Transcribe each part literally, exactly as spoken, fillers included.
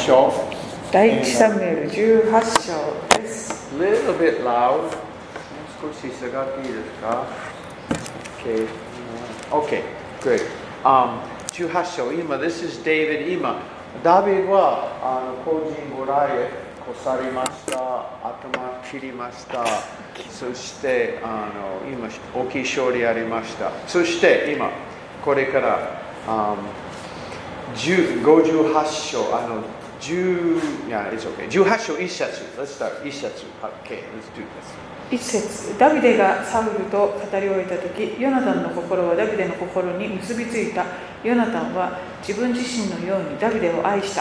章。 第一サムエルじゅうはち章です。 Little bit loud. もう少し下がっていいですか ?Okay. Okay. Good. Um, じゅうはち章。今、This is David. 今、ダビデはあの個人ゴライエ越されました。頭切りました。そしてあの今大きい勝利ありました。そして今これから、um, ごじゅうはち章あの10 yeah, it's okay. じゅうはち章一節 Let's start 一節 Okay, let's do this 一節ダビデがサウルと語り終えたとき、ヨナタンの心はダビデの心に結びついた。ヨナタンは自分自身のようにダビデを愛した。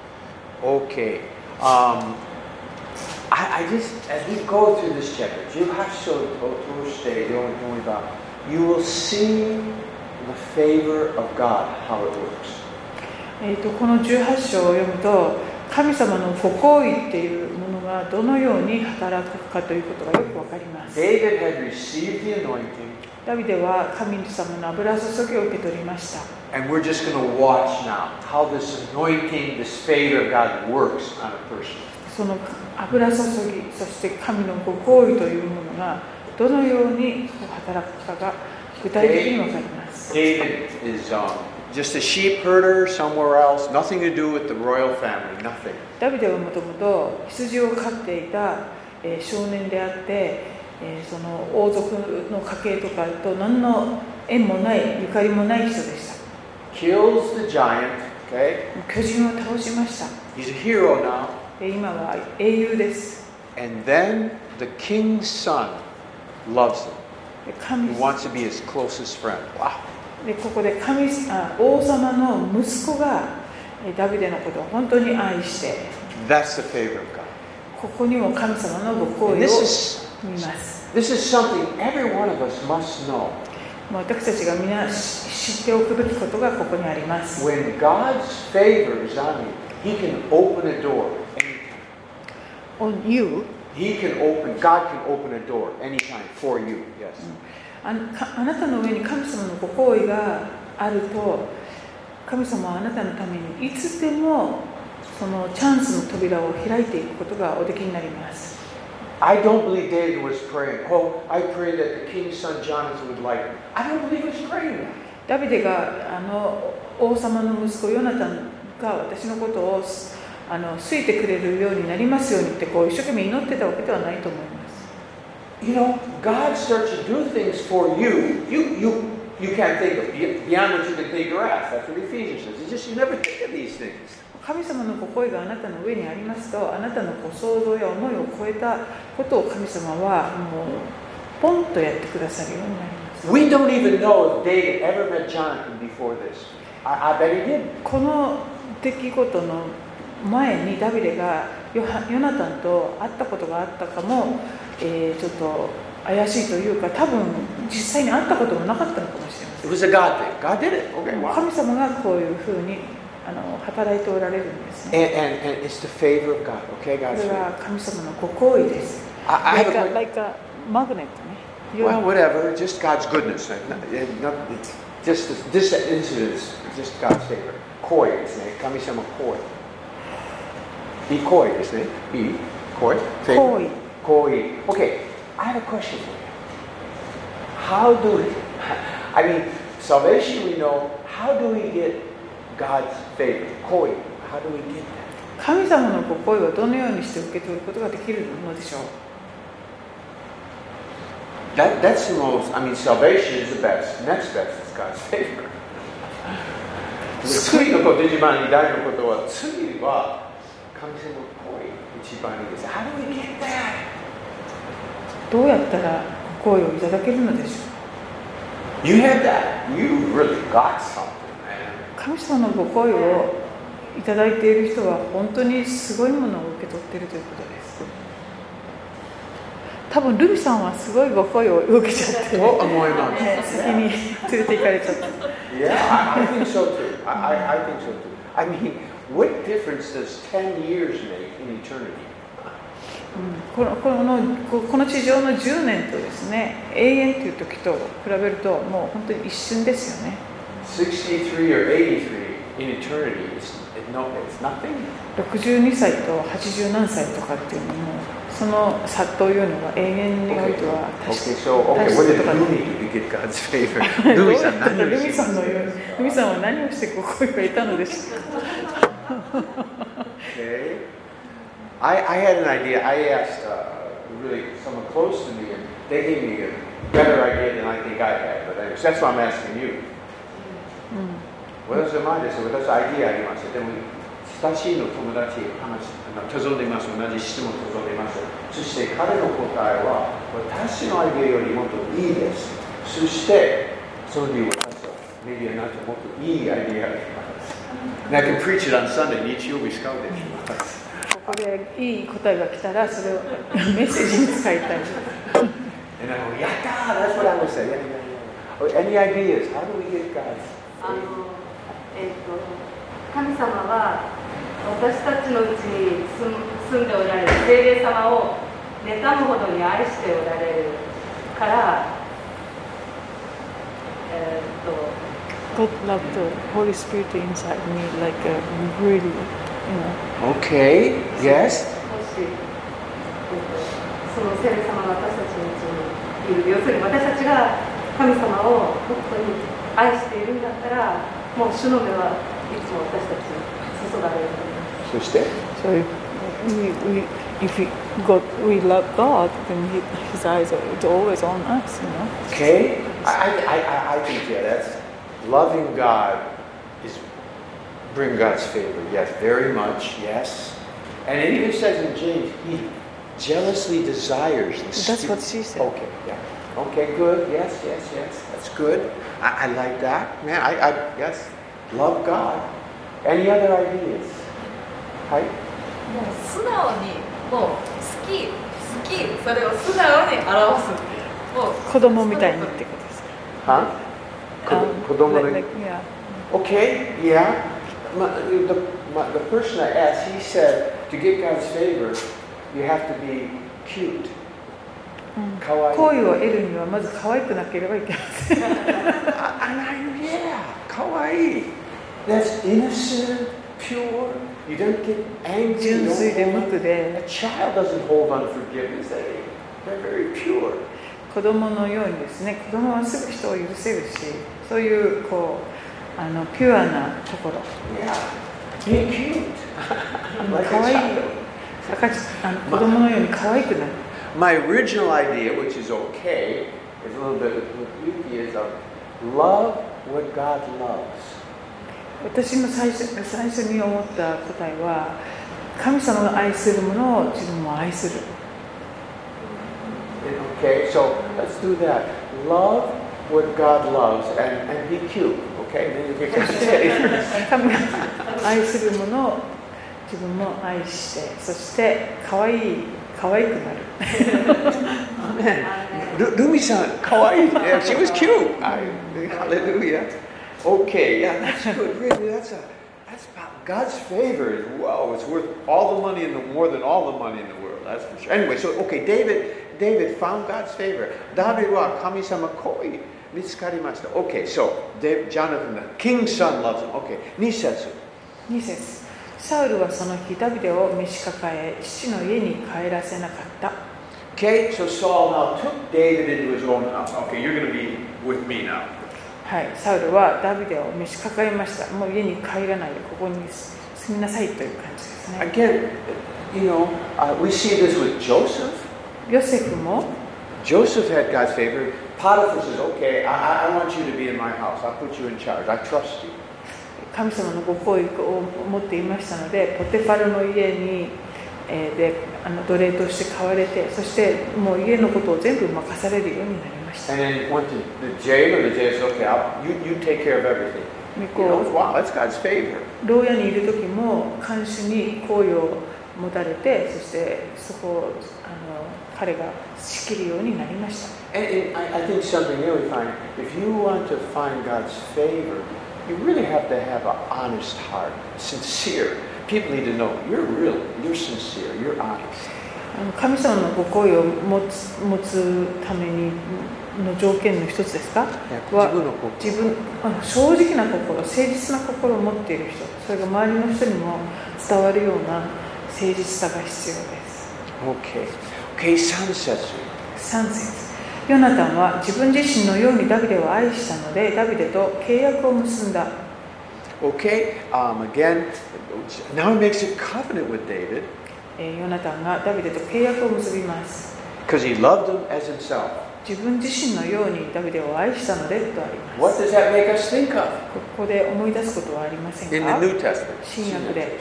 Okay. Um, I, I just, as we go through this chapter, じゅうはち章を通して読めば You will see the favor of God, how it works. えーとこのじゅうはち章を読むと、神様のご厚意っていうものがどのように働くかということがよくわかります。 David had received the anointing, ダビデは神様の油注ぎを受け取りました。 and we're just going to watch now how this anointing, this favor of God works on a person. その油注ぎ、そして神のご厚意というものがどのように働くかが具体的にわかります。 David is、um, just a sheep herder somewhere else, nothing to do with the royal family, nothing. ダビデはもともと羊を飼っていた、えー、少年であって、えー、その王族の家系とかと何の縁もないゆかりもない人でした。 Kills the giant, okay? 巨人を倒しました。 He's a hero now. 今は英雄です。 And then the king's son loves him. 神 He wants to be his closest friend. Wow. でここで神あ王様の息子がダビデのことを本当に愛して、 That's the favor of God. ここにも神様のご厚 And 意を this is, 見ます。 this is something every one of us must know. 私たちが皆知っておくべきことがここにあります。 When God's favor is on you, He can open a door anytime. On you? He can open, God can open a door anytime for you. Yes. あ, あなたの上に神様のご厚意があると、神様はあなたのためにいつでもそのチャンスの扉を開いていくことがおできになります。 I don't believe David was praying, oh, I pray that the king's son Jonathan would like me. I don't believe he was praying that. ダビデがあの王様の息子ヨナタンが私のことをあの好いてくれるようになりますようにってこう一生懸命祈ってたわけではないと思います。 You know, God starts to do things for you. You, you, you can't think of beyond what you can think or ask. That's what Ephesians says. It's just you never think of these things. 神様のご厚意があなたの上にありますと、あなたのご想像や思いを超えたことを神様はもうポンとやってくださるようになります。 We don't even know if David ever met Jonathan before this. I, I bet he did. この出来事の前にダビデがヨナタンと会ったことがあったかも、えー、ちょっと怪しいというか、多分実際に会ったこともなかったのかもしれません。 It was a God thing. God did it. Okay, wow. 神様がこういうふうにあの働いておられるんですね。 And, and, and it's the favor of God. Okay, こ God's れ favor. は神様のご厚意です。 I, I have like, a a, like a magnet ね。 Well, whatever. Just God's goodness. Not, not, just this, this incident is just God's favor. Koi ですね。神様koi. Be koi ですね。Be koi. 厚意。 Koi. Okay. I have a question for you. How do we? I mean, salvation we know. How do we get God's favor? Koi. How do we get that? 神様のご厚意はどのようにして受け取ることができるのでしょう。 That, that's the most, I mean, salvation is the best. Next best is God's favor. 次のこと、一番に大事なことは、次は神様の恋、一番いいです。How do we get that? どうやったらご厚意をいただけるのでしょう。 You had that. You really got something, man. 神様のご厚意をいただいている人は本当にすごいものを受け取っているということです。多分ルミさんはすごいご厚意を受けちゃって、 と思います。 ね、先に連れて行かれちゃった。 Yeah, I, I think so too. I, I, I think so too. I mean, what difference does ten years make in eternity? この、この、この地上のじゅうねんとですね、永遠という時と比べるともう本当に一瞬ですよね。 sixty-three or eighty-three in eternity is no, it's nothing. ろくじゅうにさいとはちじゅう何歳とかっていうのもその差というのは永遠においては Okay, so okay, what did Lumi do to get God's favor? Lumi さん何をルしてミさんのようにルミさんは何をしてここに得たのでしょうか Okay. I, I had an idea. I asked uh, really someone close to me, and they gave me a better idea than I think I had. But anyways, that's why I'm asking you. 私の前です。私アイディアあります。でも親しいの友達話望んでいます。同じ質問望んでいます。そして彼の答えは私のアイデアよりもっといいです。そしてその理由はメディアになってもっといいアイデアがあります。And I can preach it on Sunday. 日曜日使うでしょう。 ここでいい答えが来たらそれをメッセージに使いたい。 And I go, やったー That's what I would say. Any ideas? How do we get God's? あのえー、と神様は私たちのうちに住んでおられる聖霊様を妬むほどに愛しておられるから、えー、と God loved the Holy Spirit inside me like a really, you know. Okay, yes. もし、えー、とその聖霊様が私たちのうちにいる、要するに私たちが神様を本当に愛しているんだったら、もう主の目はいつも私たちに注がれる。 そして So if we, we, if we, God, we love God, then he, His eyes are always on us, you know. Okay, I, I, I, I think, yeah, that's loving God is bring God's favor. Yes, very much, yes. And it even says in James, He jealously desires the That's spirit. what she said. Okay, yeah. Okay, good. Yes, yes, yes. That's good. I, I like that. Man, I, I yes, love God. Any other ideas? Hi? もう素直にもう好き好きそれを素直に表すもう子供みたいにってことです。 Huh? Um, 子供 like, の like, yeah. Okay, yeah. My, the, my, the person I asked, he said, to get God's favor, you have to be cute. 好意を得るにはまず可愛くなければいけません。 And I, yeah, kawaii. That's innocent, pure. You don't get angry. 純 You 粋で don't 無 hold 垢 on. で A child doesn't hold unforgiveness. They, they're very pure. 子供のようにですね、子供はすぐ人を許せるし、そういうこうあのピュアなところ。 Yeah, be cute. Like 可 a 愛い child. 赤ちあの子供のように可愛くなる。 My original idea, which is okay, is a little bit with Yuki, is of love what God loves. 私の最初最初に思った答えは、神様が愛するものを自分も愛する。 Okay, so let's do that. Love what God loves and, and be cute. Okay, then you get God's favor. 神が愛するものを自分も愛して、そして可愛い可愛くなる。 Amen. Lumi-san, kawaii. Yeah, she was cute. I, hallelujah. Okay, yeah, that's good. Really, that's a that's about God's favor. Is wow, it's worth all the money in the more than all the money in the world. That's for sure. Anyway, so okay, David, David found God's favor. David wa kami-sama koi mitsukarimashita. Okay, so David, Jonathan, the king's son loves him. Okay, nisetsu. に節。サウルはその日ダビデを召し抱え、父の家に帰らせなかった。 Okay, so Saul now took David into his own house. Okay, you're going to be with me now. はい、サウルはダビデを召し抱えました。もう家に帰らないでここに住みなさいという感じですね。 Again, you know, uh, we see this with Joseph. ヨセフも Joseph had God's favor. Potiphar says, okay, I, I want you to be in my house. I'll put you in charge. I trust you. 神様のご好意を持っていましたので、ポテファルの家に、えー、であの奴隷として買われて、そしてもう家のことを全部任されるようになりました。 And then went to the jail, and the jail said, okay, I'll, you, you take care of everything. You こ know, う wow, that's God's favor. 牢屋にいる時も看守に好意を持たれて、そしてそこをあの彼が仕切るようになりました。 And, and I, I think something here we find, if you want to find God's favor, you really have to have an honest heart, sincere. People need to know you're real, you're sincere, you're honest. 神様のご好意を持つ、持つためにの条件の一つですかは自分の心自分あの正直な心、誠実な心を持っている人、それが周りの人にも伝わるような誠実さが必要です。 OK。OK、さん節。 さん節、ヨナタンは自分自身のようにダビデを愛したので、ダビデと契約を結んだ。 OK、um, again, now he makes a covenant with David えーヨナタンがダビデと契約を結びます。 because he loved him as himself. 自分自身のようにダビデを愛したのでとあります。 What does that make us think of ここで思い出すことはありません in か？ the New Testament? 新約で。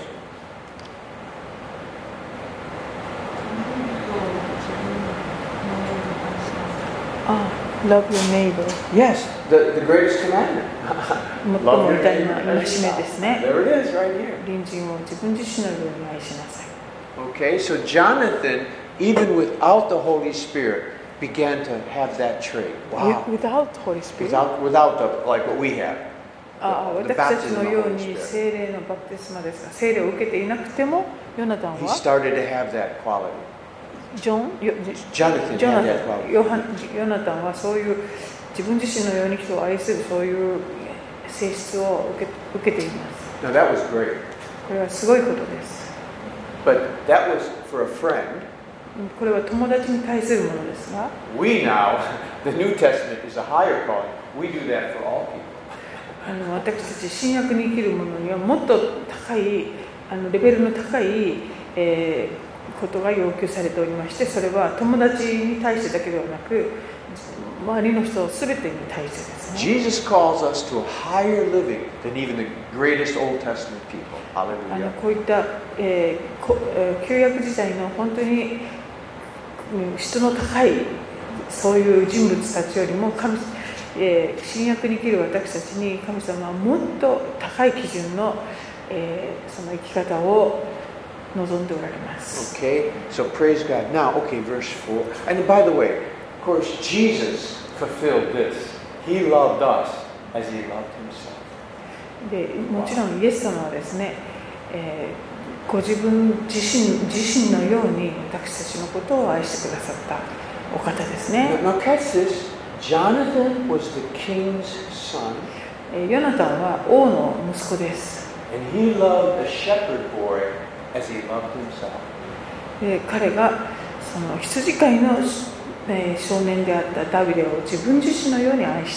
あ、Love your neighbor。 Yes, the, the greatest commandment. 最も偉大な戒めですね。 There it is, right here. 隣人を自分自身のように愛しなさい。 Okay, so Jonathan, even without the Holy Spirit, began to have that trait. Wow. Without Holy Spirit。 Without, without the, like what we have. ああ、 The 私たち baptism の of the よう Holy に Spirit. 聖霊のバプテスマですが、聖霊を受けていなくても、ヨナタン He は started to have that quality. ジョン、ヨ Jonathan ジョ had ナ that タン quality. ヨハヨナタンはそういう自分自身のように人を愛するそういう性質を受け受けています。 Now that was great. これはすごいことです。 But that was for a friend. これは友達に対するものですが、 We now, the New Testament is a higher calling. We do that for all people. あの私たち新約に生きる者にはもっと高いあのレベルの高い、えーことが要求されておりまして、それは友達に対してだけではなく周りの人すべてに対してですね。 Jesus calls us to a higher living than even the greatest Old Testament people. あの Hallelujah. こういった、えーこえー旧約時代の本当にうん質の高いそういう人物たちよりも神、えー新約に生きる私たちに神様はもっと高い基準の、えーその生き方を望んでおられます。 Okay, so praise God. Now, okay, verse four. And by the way, of course, Jesus fulfilled this. He loved us as he loved himself. でもちろんイエス様はですね、えーご自分自身自身のように私たちのことを愛してくださったお方ですね。 Now, now catch this. Jonathan was the king's son, えーヨナタンは王の息子です。 and he loved the shepherd boy as he loved himself. で彼がその羊飼いの、えー少年であったダビデを自分自身のように愛した。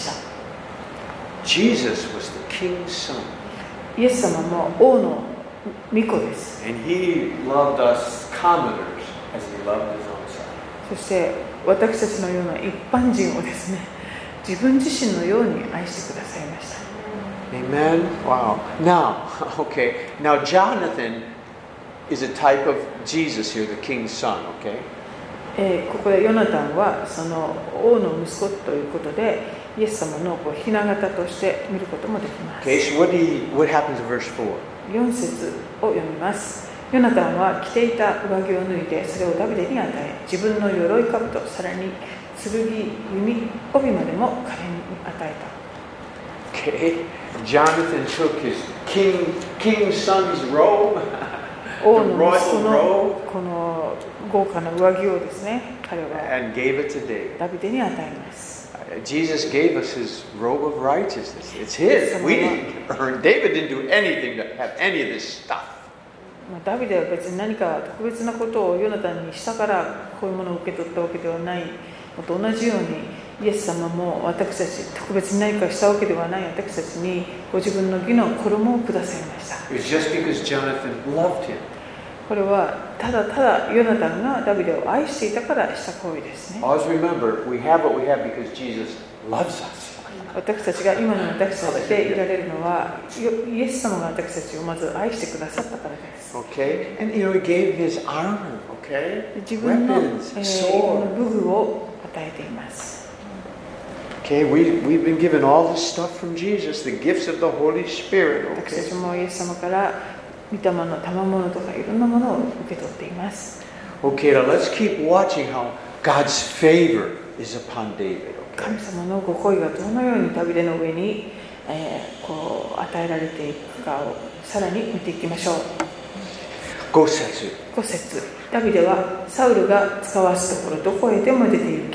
Jesus was the king's son, イエス様も王の御子です。 and he loved us commoners as he loved his own son. そして私たちのような一般人をですね、自分自身のように愛してくださいました。 Amen. Wow. Now, okay. Now, Jonathan is a type of Jesus here, the king's son. Okay. えーここでヨナタンはその王の息子ということで、イエス様のこう雛形として見ることもできます。 Okay. So what do you, what happens in verse four? よん節を読みます。ヨナタンは着ていた上着を脱いで、それをダビデに与え、自分の鎧兜、さらに剣、弓、帯までも彼に与えた。 Okay. Jonathan took his king, king's son's robe, 王 the の息子 royal の robe, この豪華な上着をですね、彼は and gave it to David. ダビデに与えます。 Uh, Jesus gave us his robe of righteousness. It's his. We didn't earn. David didn't do anything to have any of this stuff. まあダビデは別に何か特別なことをヨナタンにしたからこういうものを受け取ったわけではないのと同じように、イエス様も私たち特別に何かしたわけではない私たちにご自分の義の衣をくださいました。 It was just because Jonathan loved him. これはただただヨナタンがダビデを愛していたからした行為ですね。 Always remember, we have what we have because Jesus loves us. 私たちが今の私たちでいられるのはイエス様が私たちをまず愛してくださったからです。 Okay? And you know, he gave his armor, okay? 自分の、 Weapons, えー sword. 武具を与えています。 Okay, we, we've been given all this stuff from Jesus, the gifts of the Holy Spirit, 私た okay? ちもイエス様から御霊の賜物とかいろんなものを受け取っています。 Okay, now let's keep watching how God's favor is upon David, 神 okay? 様のご厚意がどのようにダビデの上に、えーこう与えられていくかをさらに見ていきましょう。 ご節。 ご節、ダビデはサウルが使わすところどこへでも出て行き、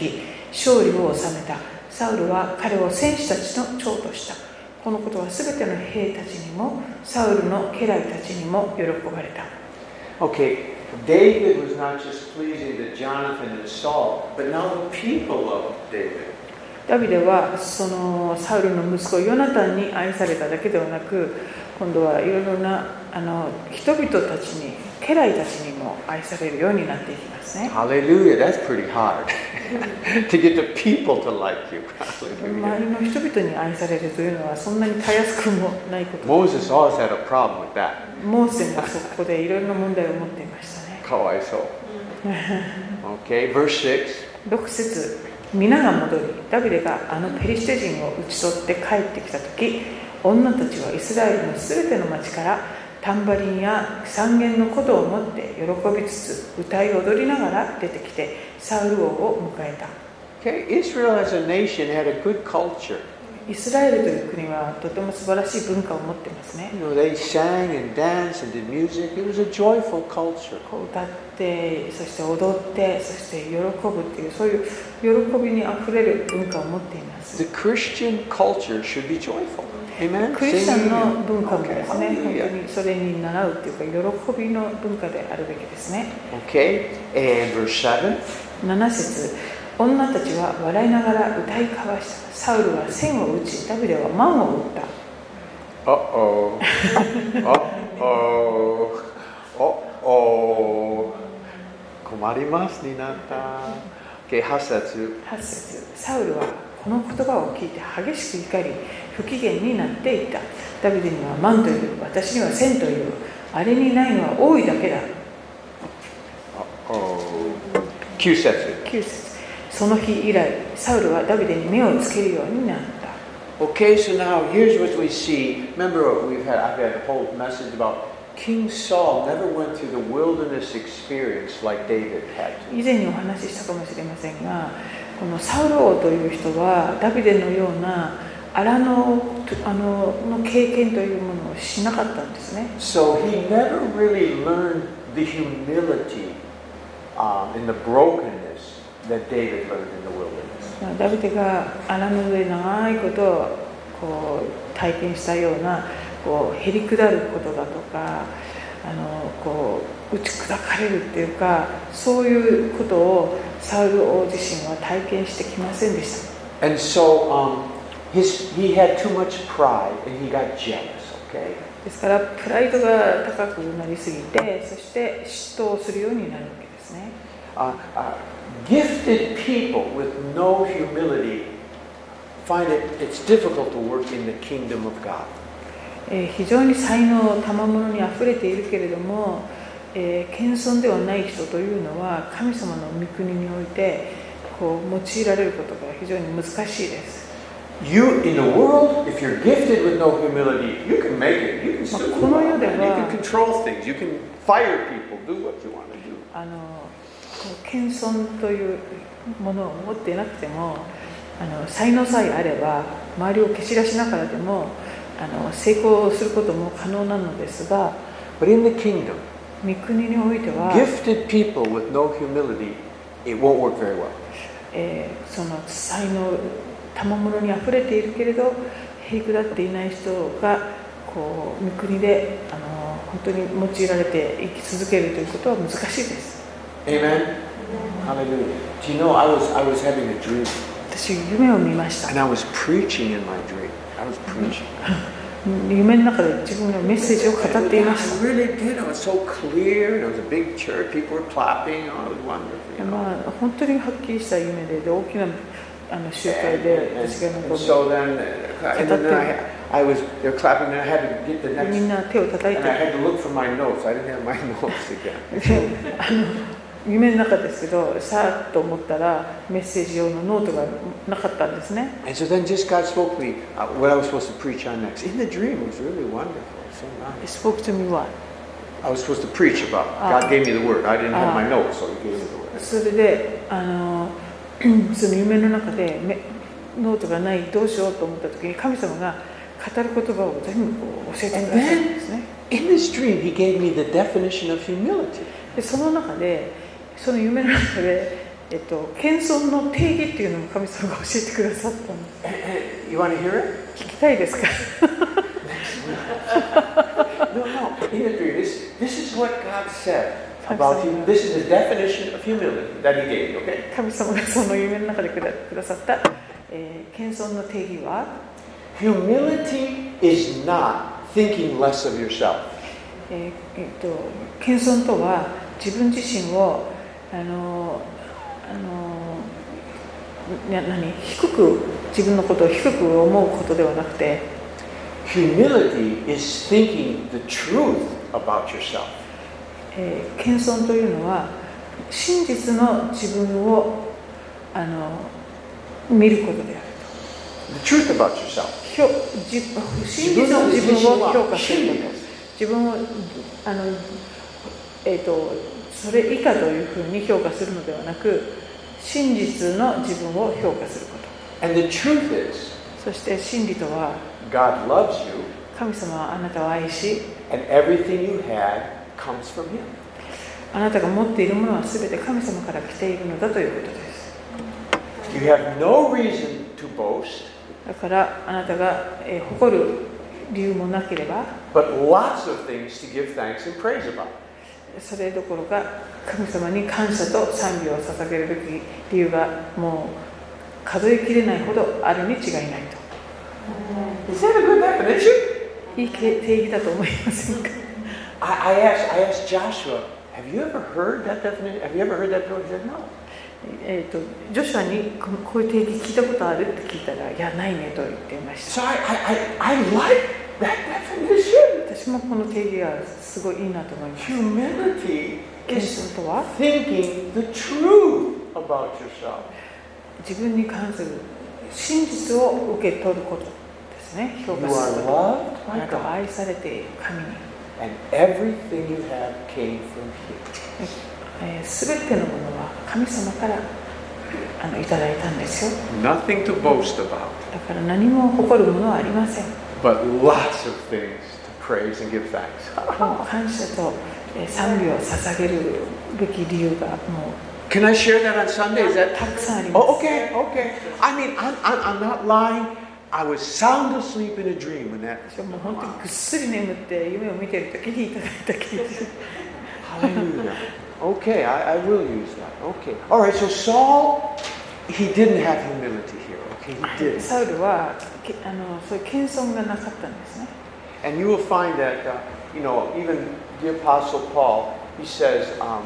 勝利を収めた。サウルは彼を戦士たちの長とした。このことはすべての兵たちにもサウルの家来たちにも喜ばれた。 Okay, David was not just pleasing to Jonathan and Saul, but now the people loved David. ダビデはそのサウルの息子ヨナタンに愛されただけではなく、今度はいろいろなあの人々たちに、家来たちにも愛されるようになっていきますね。 Hallelujah, that's pretty hard. To get the people to like you. 周りの人々に愛されるというのはそんなにたやすくもないこと。 Moses always had a problem with that. モーセもそこでいろいろな問題を持っていましたね。 かわいそう。Okay, verse six. ろく節、皆が戻り、ダビデがあのペリシテ人を討ち取って帰ってきたとき、女たちはイスラエルのすべての町からタンバリンや三弦の琴を持って喜びつつ歌い踊りながら出てきてサウル王を迎えた。 Okay, Israel as a nation had a good culture. イスラエルという国はとても素晴らしい文化を持っていますね。 You know, they sang and danced and did music. It was a joyful culture. こう歌って、そして踊って、そして喜ぶっていう、そういう喜びにあふれる文化を持っています。 The Christian culture should be joyful. Amen. クリスチャンの文化も Okay, ですね、本 hallelujah. 当にそれに習うっていうか、喜びの文化であるべきですね。 Okay, and verse seven. なな節、女たちは笑いながら歌い交わした。サウルは千を打ち、ダビデは万を打った。 Uh-oh. Uh-oh. Uh-oh. 困りますになった。Okay, はち節。 はち節、サウルはこの言葉を聞いて激しく怒り、不機嫌になっていった。ダビデには万という、私には千という、あれにないのは多いだけだ。 Uh-oh. きゅう節。 きゅう節、その日以来、サウルはダビデに目をつけるようになった。 Okay, so now here's what we see. Remember, we've had I've had a whole message about King Saul never went through the wilderness experience like David had to. 以前にお話ししたかもしれませんが、このサウル王という人はダビデのような荒野あのの経験というものをしなかったんですね。 So he never really learned the humility um, and the brokenness that David learned in the wilderness. ダビデが荒野で長いことをこう体験したようなこうへりくだることだとか、あのこう打ち砕かれるっていうか、そういうことをサウル王自身は体験してきませんでした。 And so um, his, he had too much pride and he got jealous, okay? ですからプライドが高くなりすぎて、そして嫉妬をするようになるわけですね。 Uh, uh, gifted people with no humility find it it's difficult to work in the kingdom of God. えー非常に才能、賜物にあふれているけれども、えー謙遜ではない人というのは神様の御国においてこう用いられることが非常に難しいです。 You in the world, if you're gifted with no humility, you can make it. You can still do well. You can control things. You can fire people. Do what you want to do. あのこう謙遜というものを持っていなくても、あの才能さえあれば周りを蹴散らしながらでもあの成功することも可能なのですが、 But in the kingdom, 御国においては、 gifted people with no humility, it won't work very well. えーその才能、賜物にあふれているけれどへりくだっていない人がこう御国であの本当に用いられて生き続けるということは難しいです。 Amen. Hallelujah. Do you know I was I was having a dream 私夢を見ました。 and I was preaching in my dream. I was preaching. 夢の中で自分のメッセージを語っていま I した。 really did. It was so clear. And it was a big church. People were clapping. Oh, it was wonderful. You know? まあ、本当にはっきりした夢で、で大きなあの集会 And, で and, 私が and 残 so then, uh, and then I, I was, they were clapping, and I had to get the る next, みんな手を叩い and I て had to look for my notes. I didn't have my notes again. であの夢の中ですけど、さあと思ったらメッセージ用のノートがなかったんですね。 And so then just God spoke to me uh, what I was supposed to preach on next. In the dream, it was really wonderful. So He nice. spoke to me what? I was supposed to preach about. Ah. God gave me the word. I didn't have Ah. my notes, so He gave me the word. それであのその夢の中でめノートがないどうしようと思った時に神様が語る言葉を全部こう教えてくださるんですね。 In this dream, He gave me the definition of humility. でその中でその夢の中でえっと、謙遜の定義っていうのも神様が教えてくださったんです。 You want to hear it? 聞きたいですか？ No, no. In the dream, this, this is what God said about you. This is the definition of humility that He gave you, okay? 神様がその夢の中でくだくださった、えー、謙遜の定義は Humility is not thinking less of yourself. えーえー、と謙遜とは自分自身をあのあのな何低く自分のことを低く思うことではなくて Humility is thinking the truth about yourself. えー、謙遜というのは真実の自分をあの見ることである。 The truth about yourself. 真実の自分を評価すること。自分をあの、えーと、それ以下というふうに評価するのではなく、真実の自分を評価すること。 And the truth is, そして真理とは、 God loves you, 神様はあなたを愛し、 and everything you had comes from Him. あなたが持っているものはすべて神様から来ているのだということです。 You have no reason to boast. だからあなたが、えー、誇る理由もなければ、 but lots of things to give thanks and praise about. それどころか神様に感謝と賛美を捧げるべき理由がもう数えきれないほどあるに違いないと。 Is that a good definition? いい定義だと思いませんか？ I, I asked, I asked Joshua, have you ever heard that definition? Have you ever heard that before? He said, no. えーと、ジョシュアにこういう定義聞いたことあるって聞いたら、いや、ないねと言っていました。 So I, I, I like that definition. 私もこの定義がすごいいいなと思います。 Humility 謙 is 遜とは thinking the truth about yourself. 自分に関する真実を受け取ることですね。評 You 価 are すること。 loved あ by なたは God, 愛されている神に。 and everything you have came from Him. すべてのものは神様からあのいただいたんですよ。 Nothing to boast about, だから何も誇るものはありません。 but lots of things to praise and give thanks. もう感謝とえー賛美を捧げるべき理由がもう Can I share that on Sunday? Is that たくさんあります。 oh, okay, okay. I mean, I'm, I'm, I'm not lying. I was sound asleep in a dream when that. 私はもう本当にぐっすり眠って夢を見ている時にいただいた記事。 Hallelujah. Okay, I, I will use that. Okay. All right, so Saul, he didn't have humility here. Okay, he didn't. サウルはけあのそういう謙遜がなかったんですね。 And you will find that, uh, you know, even the Apostle Paul, he says, um,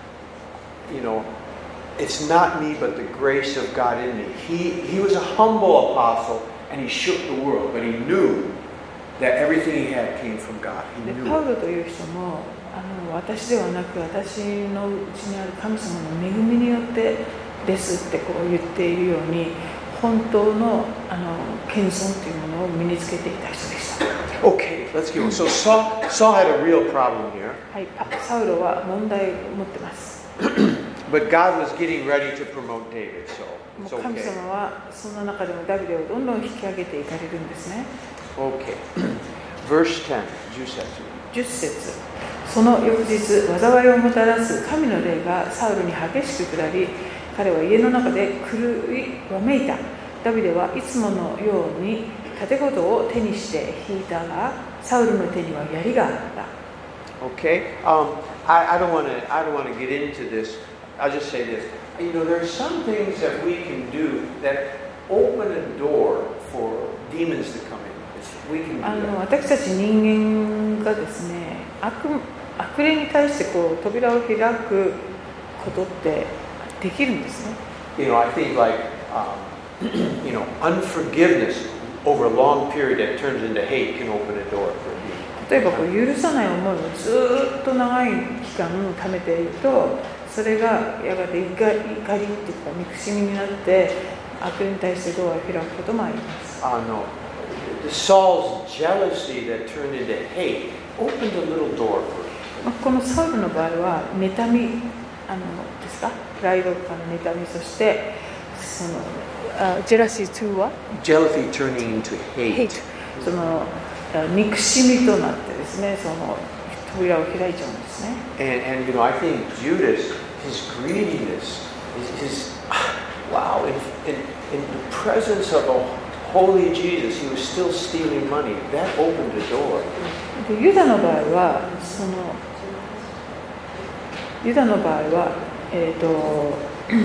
you know, it's not me but the grace of God in me. He, he was a humble apostle and he shook the world, but he knew that everything he had came from God. He で knew パウ it. ロという人もあの私ではなく私のうちにある神様の恵みによってですってこう言っているように本当のあの謙遜というものを身につけていた人でした。 Okay, let's keep on. So Saul, Saul had a real problem here, はい、パサウロは問題を持ってます。 but God was getting ready to promote David, so も it's う神 okay. 様はそんな中でもダビデをどんどん引き上げていかれるんですね。 Okay. Verse ten, じゅっ節。 じゅっ節、その翌日災いをもたらす神の霊がサウルに激しく下り、彼は家の中で狂いわめいた。ダビデはいつものように盾事を手にして引いたが、サウルの手には槍があった。 Okay. Um, I, I don't want to. I don't want to get into this. I'll just say this. You know, there are some things that we can do that open a door for demons to come in. We can do あの that. 私たち人間がですね、悪悪霊に対してこう扉を開くことってできるんですね。 You know, I think like um, you know, unforgiveness over a long period that turns into hate can open a door for a demon. 例えばこう許さない思いをずっと長い期間貯めていると、それがやがて怒り、怒りっていうか憎しみになって悪霊に対してドアを開くこともあります。 Uh, no. Saul's jealousy that turned into hate opened a little door for him. このサウルの場合は妬みあのですか、プライドから妬み、そしてそのあジェラシーには Jealousy turning into hate. hate、その憎しみとなってですね、その扉を開いちゃうんですね。 And, and you know, I think Judas, his greediness his, wow, in, in, in the presence of a holy Jesus, he was still stealing money. That opened the door. でユダの場合はそのユダの場合は、えー、と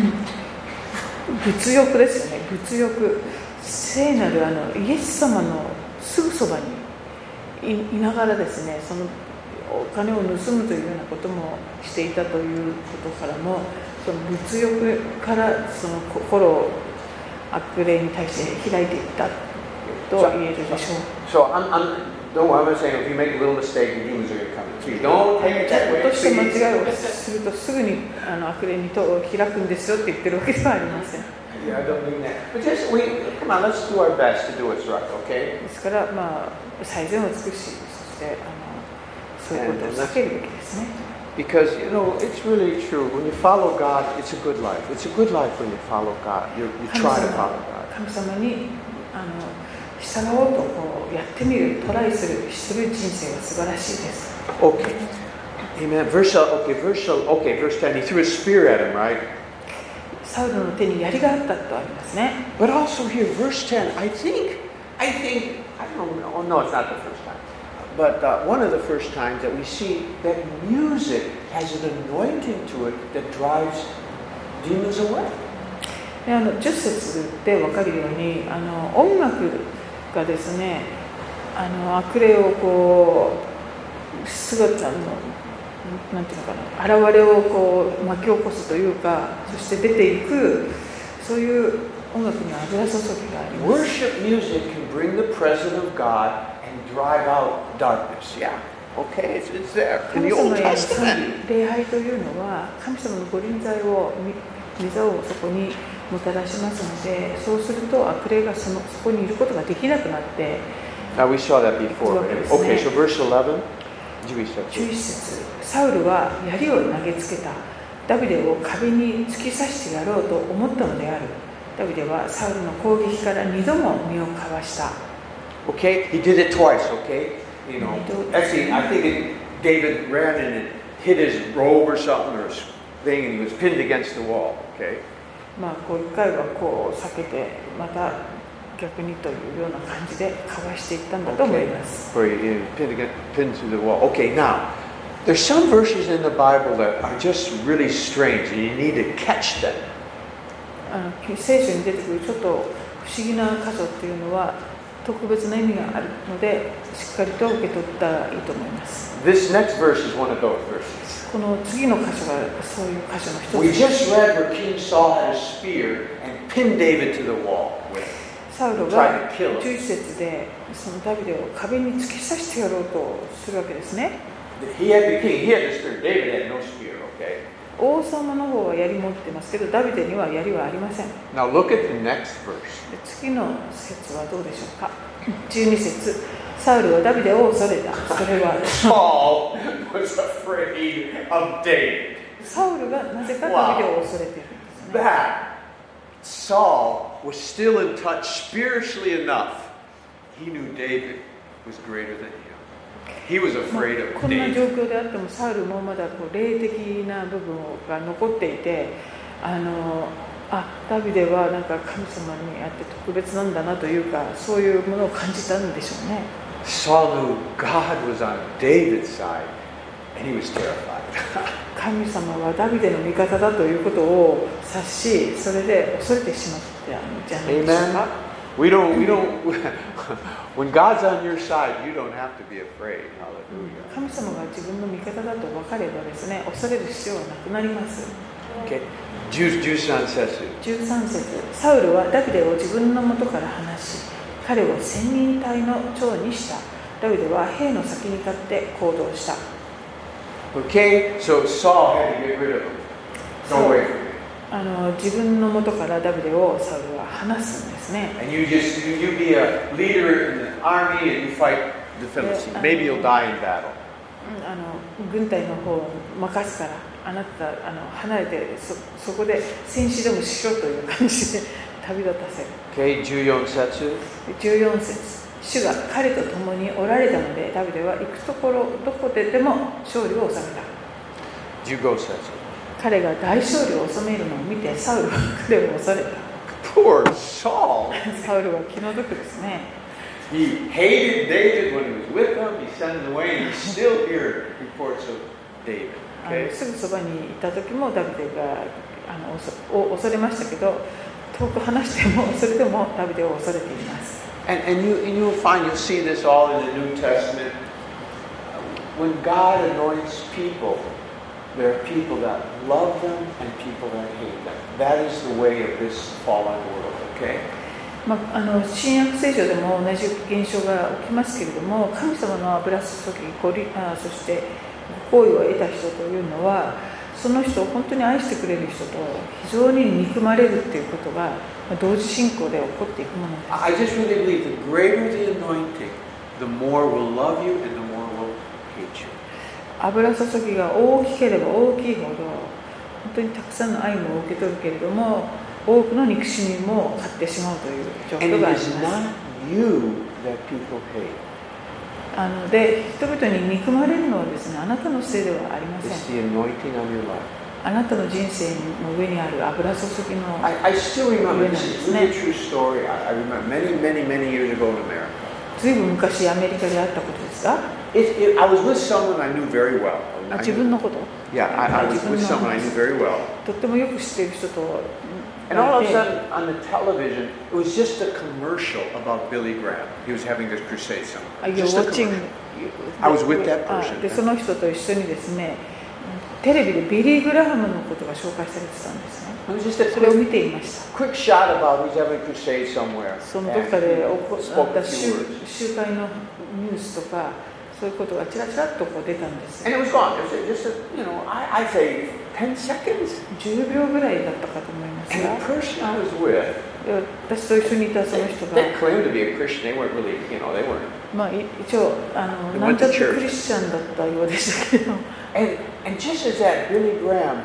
物欲ですよね。物欲、聖なるあのイエス様のすぐそばに い, いながらですね、そのお金を盗むというようなこともしていたということからも、その物欲からその心を悪霊に対して開いていったと言えるでしょう。 So I'm, I'm, don't worry, I'm not saying if you make a little mistake, the demons are going to come to you. Don't take it that way. 落として間違いをするとすぐにあの悪霊に戸を開くんですよって言ってるわけではありません。 Yeah, I don't mean that. But just, we, come on, let's do our best to do what's right, okay? ですから、まあ、最善を尽くし、そしてあのそういうことを避けるべきですね。 Because, you know, it's really true. When you follow God, it's a good life. It's a good life when you follow God. You, you try to follow God. 神様にあの従おうとこうやってみる、トライする、する人生は素晴らしいです。 Okay. Amen. Verse, okay, verse, okay, verse ten. He threw a spear at him, right? サウルの手に槍があったとありますね。 But also here, verse ten, I think, I think, I don't know, oh, no, it's not the first time. But uh, one of the first times that we see that music has an anointing to it that drives demons away. であのじゅっ節で分かるように、あの音楽がですね、あの悪霊をこう姿のなんていうのかな、現れをこう巻き起こすというか、そして出ていく、そういう音楽には油注ぎがあります。 Worship music can bring the presence of God and drive out darkness. Yeah. Okay, it's, it's there. In 神 the 様 Old への Testament. 礼拝というのは、神様のご臨在を御座をそこにもたらしますので、そうすると悪霊がそのそこにいることができなくなって。 Now we saw that before. Okay, so verse eleven. じゅういち節、サウルは槍を投げつけた。ダビデを壁に突き刺してやろうと思ったのである。ダビデはサウルの攻撃から二度も身をかわした。 Okay, he did it twice. Okay, you know. Actually, I think it, David ran and hit his robe or something or thing, and he was pinned against the wall. Okay. まあこう一回はこう避けて、また逆にというような感じでかわしていったんだと思います。 Where he pinned, against, pinned to the wall. Okay, now there's some verses in the Bible that are just really strange, and you need to catch them. あの聖書に出てくるちょっと不思議な箇所っていうのは特別な意味があるので、しっかりと受け取ったらいいと思います。 This next verse is one of those verses. この次の箇所がそういう箇所の一つ We です。 just read where King Saul had a spear and pinned David to the wall with it. サウロがじゅういち節でそのダビデを壁に突き刺してやろうとするわけですね。 He had the king, he had the spear. David had no spear, okay? 王様の方は槍持ってますけど、ダビデには槍はありません。 Now look at the next verse. で次の節はどうでしょうか。じゅうに節、サウルはダビデを恐れた。それは Saul was afraid of David. サウルがなぜかダビデを恐れているんですね。 That Saul was still in touch spiritually enough. He knew David was greater than him. He was まあ afraid of こんな David. 状況であってもサウルもまだこう霊的な部分が残っていて、あのあダビデはなんか神様にあって特別なんだなというか、そういうものを感じたんでしょうね。 Saul knew God was on David's side, and he was terrified. 神様はダビデの味方だということを察し、それで恐れてしまったんじゃないでしょうか。 Amen. We don't, we don't, when God's on your side, you don't have to be afraid. Hallelujah. 神様が自分の味方だと分かればですね、恐れる必要はなくなります。 Okay. じゅうさん節。 じゅうさん節、サウルはダビデを自分の元から離し、彼を千人隊の長にした。ダビデは兵の先に立って行動した。 Okay, so Saul had to get rid of him. Go away from him. あの自分の元からダビデをサウルは離すんですね。 And you just, you, you be a leader in the army and you fight the Philistines. Maybe you'll die in battle. あの軍隊の方を任すから、あなたあの離れて そ, そこで戦死でもしろという感じで旅立たせる。 Okay, じゅうよん節。 じゅうよん節、主が彼と共におられたので、ダビデは行くところどこででも勝利を収めた。 じゅうご節。 彼が大勝利を収めるのを見てサウルは彼を恐れた。 Poor Saul. サウルは気の毒ですね。 He hated David when he was with him. He sent him away, and he still heard reports of David. あの Okay? すぐそばにいた時もダビデがあのお恐れましたけど、遠く離してもそれでもダビデを恐れています。 And, and, you, and you'll find, you'll see this all in the New Testament. When God anoints people, there are people that love them and people that hate them. That is the way of this fallen world, okay? まあ、あの新約聖書でも同じ現象が起きますけれども、神様の油注ぎ、ごりあそして好意を得た人というのは、その人を本当に愛してくれる人と非常に憎まれるということが同時進行で起こっていくものです。 I just really believe the greater the anointing, the more will love you and the more will hate you. 油注ぎが大きければ大きいほど、本当にたくさんの愛も受け取るけれども、多くの憎しみも買ってしまうという状 And 況があ it り is ます。 not you that people hate. あので、人々に憎まれるのはですね、あなたのせいではありませ It's ん。 the anointing on your life. あなたの人生の上にある油注ぎの I, I still remember, this is really a true story. I, I remember many, many, many years ago in America. ずいぶん昔アメリカであったことですが、 It, it, I was with someone I knew very well. あ I 自 knew- 分のこと、 yeah, I, I was with someone I knew very well. とってもよく知っている人と And all of a いて、 sudden, on the television, it was just a commercial about Billy Graham. He was having this crusade somewhere. Are you Just a watching? commercial. I was with that あ person. でその人と一緒にですね、テレビでビリー・グラハムのことが紹介されてたんですね。 It was just a それを quick, 見ていました。 quick shot about he's having a crusade somewhere. そのどっかで起 And こ he っ spoke た a 集 few words. 集会のニュースとか、そういうことがちらちらっとこう出たんです。 And it was gone. It was just, a, you know, I, I'd say ten seconds. じゅうびょうぐらいだったかと思います And が、 the person I was with, で私と一緒にいたその they, 人が、 they claimed to be a Christian. They weren't really, you know, they weren't. まあ、い一応あの They なん went ちゃ to って church. クリスチャンだったようでしたけど、 And, and just as that Billy Graham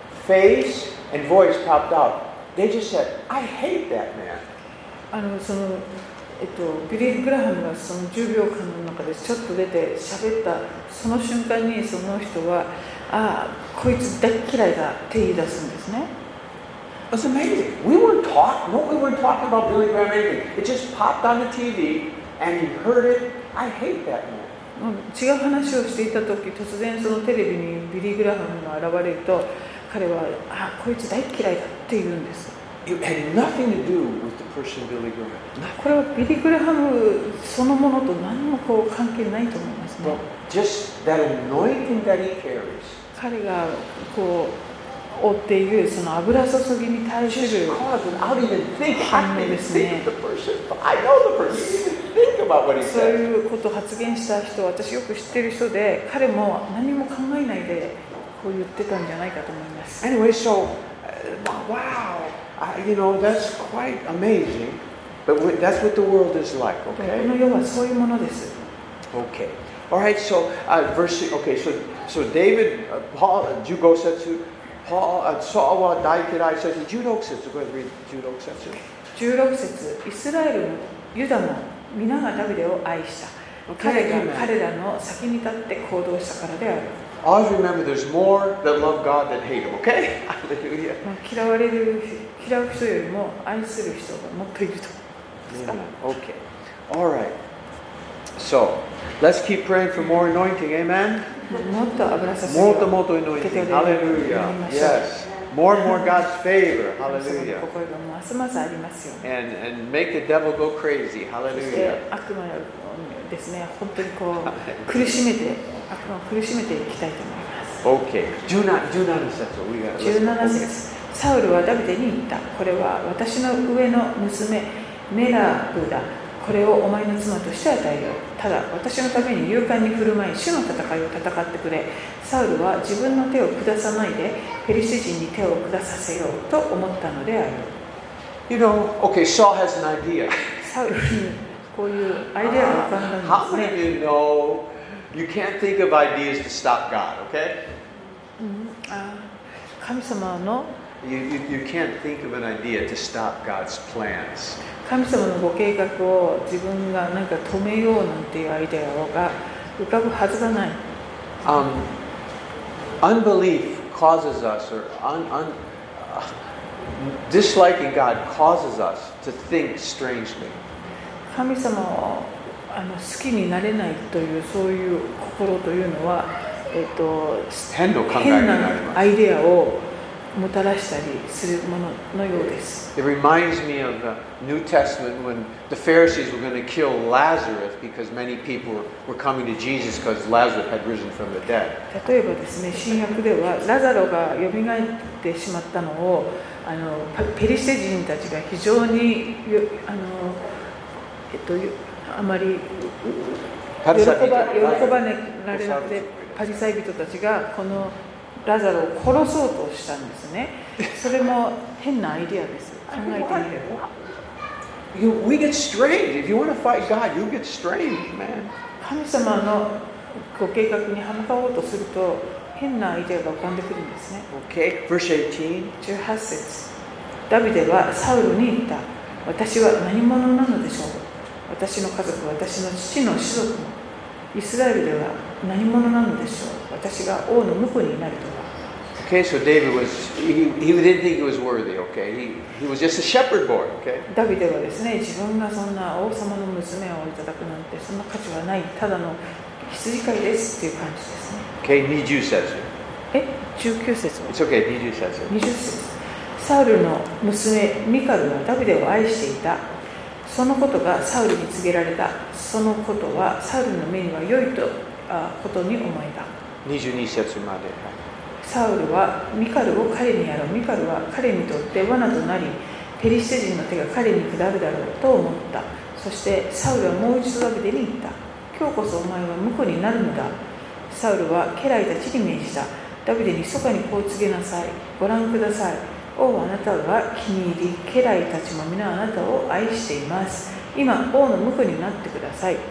face and voice popped out, they just said, I hate that man. あのそのえっと、ビリー・グラハムがそのじゅうびょうかんの中でちょっと出て喋ったその瞬間にその人はああこいつ大嫌いだって言い出すんですね。 It was amazing. We weren't talking, no, we weren't talking about Billy Graham or anything. It just popped on the T V and he heard it. I hate that man. もう違う話をしていた時突然そのテレビにビリー・グラハムが現れると彼はああこいつ大嫌いだって言うんです。 It had nothing to do with the person Billy Graham. これはビリー・グラハムそのものと何もこう関係ないと思いますね。 But just that anointing that he carries. 彼がこう追っているその油注ぎに対す Just る cause without even thinking. I 反応 didn't で even す think ね。 of the person. I know the person. He didn't even think about what he そう said. いうことを発言した人、私よく知ってる人で、彼も何も考えないでこう言ってたんじゃないかと思います。 Anyway, so, uh, wow. I, you know, that's quite amazing. But we, that's what the world is like, でも okay? この世はそういうものです。 Okay. All right, so uh, verse, okay, so, so David, uh, Paul, uh, Jugosetsu, Paul, uh, Saul wa daikirai says, Judosetsu, go ahead and read Judosetsu. じゅうろく節、イスラエルもユダも皆がダビデを愛した。 Okay, 彼が amen. 彼らの先に立って行動したからである。 Always remember there's more that love God than hate Him, okay? Hallelujah. まあ嫌われる、嫌う人よりも愛する人がもっといると。 Amen. Okay. All right. So, let's keep praying for more anointing, amen? もっと油注ぎ More and を more anointing. Hallelujah. Yes. More and more God's favor. 神様の Hallelujah. 心がますますありますように。 And, and make the devil go crazy. そして Hallelujah. 悪魔をですね、本当にこう苦しめて、悪魔を苦しめていきたいと思います。 Okay. Do not, do not accept it. We got じゅうなな it. 節、サウルはダビデに言った。これは私の上の娘メラブだ。これをお前の妻として与えよう。ただ私のために勇敢に振る舞い、主の戦いを戦ってくれ。サウルは自分の手を下さないでペリシテ人に手を下させようと思ったのである。 You know, okay, Saul has an idea. サウルにこういうアイデアが浮かんだん How です many ね。 of you know you can't think of ideas to stop God, okay? うんあ神様の You, you, you can't think of an idea to stop God's plans. 神様のご計画を自分がなんか止めようなんていうアイデアが浮かぶはずがない。 Um, unbelief causes us, or un, un, uh, disliking God causes us to think strangely. 神様をあの好きになれないというそういう心というのは、えっと、 変な考えになります。 変なアイデアをもたらしたりするもののようです。 It reminds me of the New Testament when the Pharisees were going to kill Lazarus because many people were coming to Jesus because Lazarus had risen from the dead. 例えばですね、新約ではラザロがよみがえってしまったのをあのペリシテ人たちが非常にあの、えっと、あまり喜ば、喜ばれなくて、パリサイ人たちがこのラザロを殺そうとしたんですね。それも変なアイデアです。考えてみれば。 You, we get strained. If you want to fight God, you get strained, man. 神様のご計画に歯向かおうとすると変なアイデアが浮かんでくるんですね。 Okay, verse eighteen. じゅうはち節。ダビデはサウルに言った。私は何者なのでしょう。私の家族、私の父の子族も。イスラエルでは何者なのでしょう。私が王の婿になるとは。 Okay, so David was, he, he didn't think he was worthy, okay? He, he was just a shepherd boy, okay? ダビデはですね、自分がそんな王様の娘をいただくなんてそんな価値はない、ただの羊飼いですっていう感じですね。 Okay, にじゅう節。 え、じゅうきゅう節は It's okay, にじゅう節。 にじゅう節。サウルの娘ミカルはダビデを愛していた。そのことがサウルに告げられた。そのことはサウルの目には良いとあことに思えた。 にじゅうに節まで。 サウルはミカルを彼にやろう。ミカルは彼にとって罠となり、ペリシテ人の手が彼に下るだろうと思った。そしてサウルはもう一度ダビデに言った。今日こそお前は婿になるのだ。サウルは家来たちに命じた。ダビデに密かにこう告げなさい。ご覧ください。王はあなたが気に入り、家来たちも皆あなたを愛しています。今、王の婿になってください。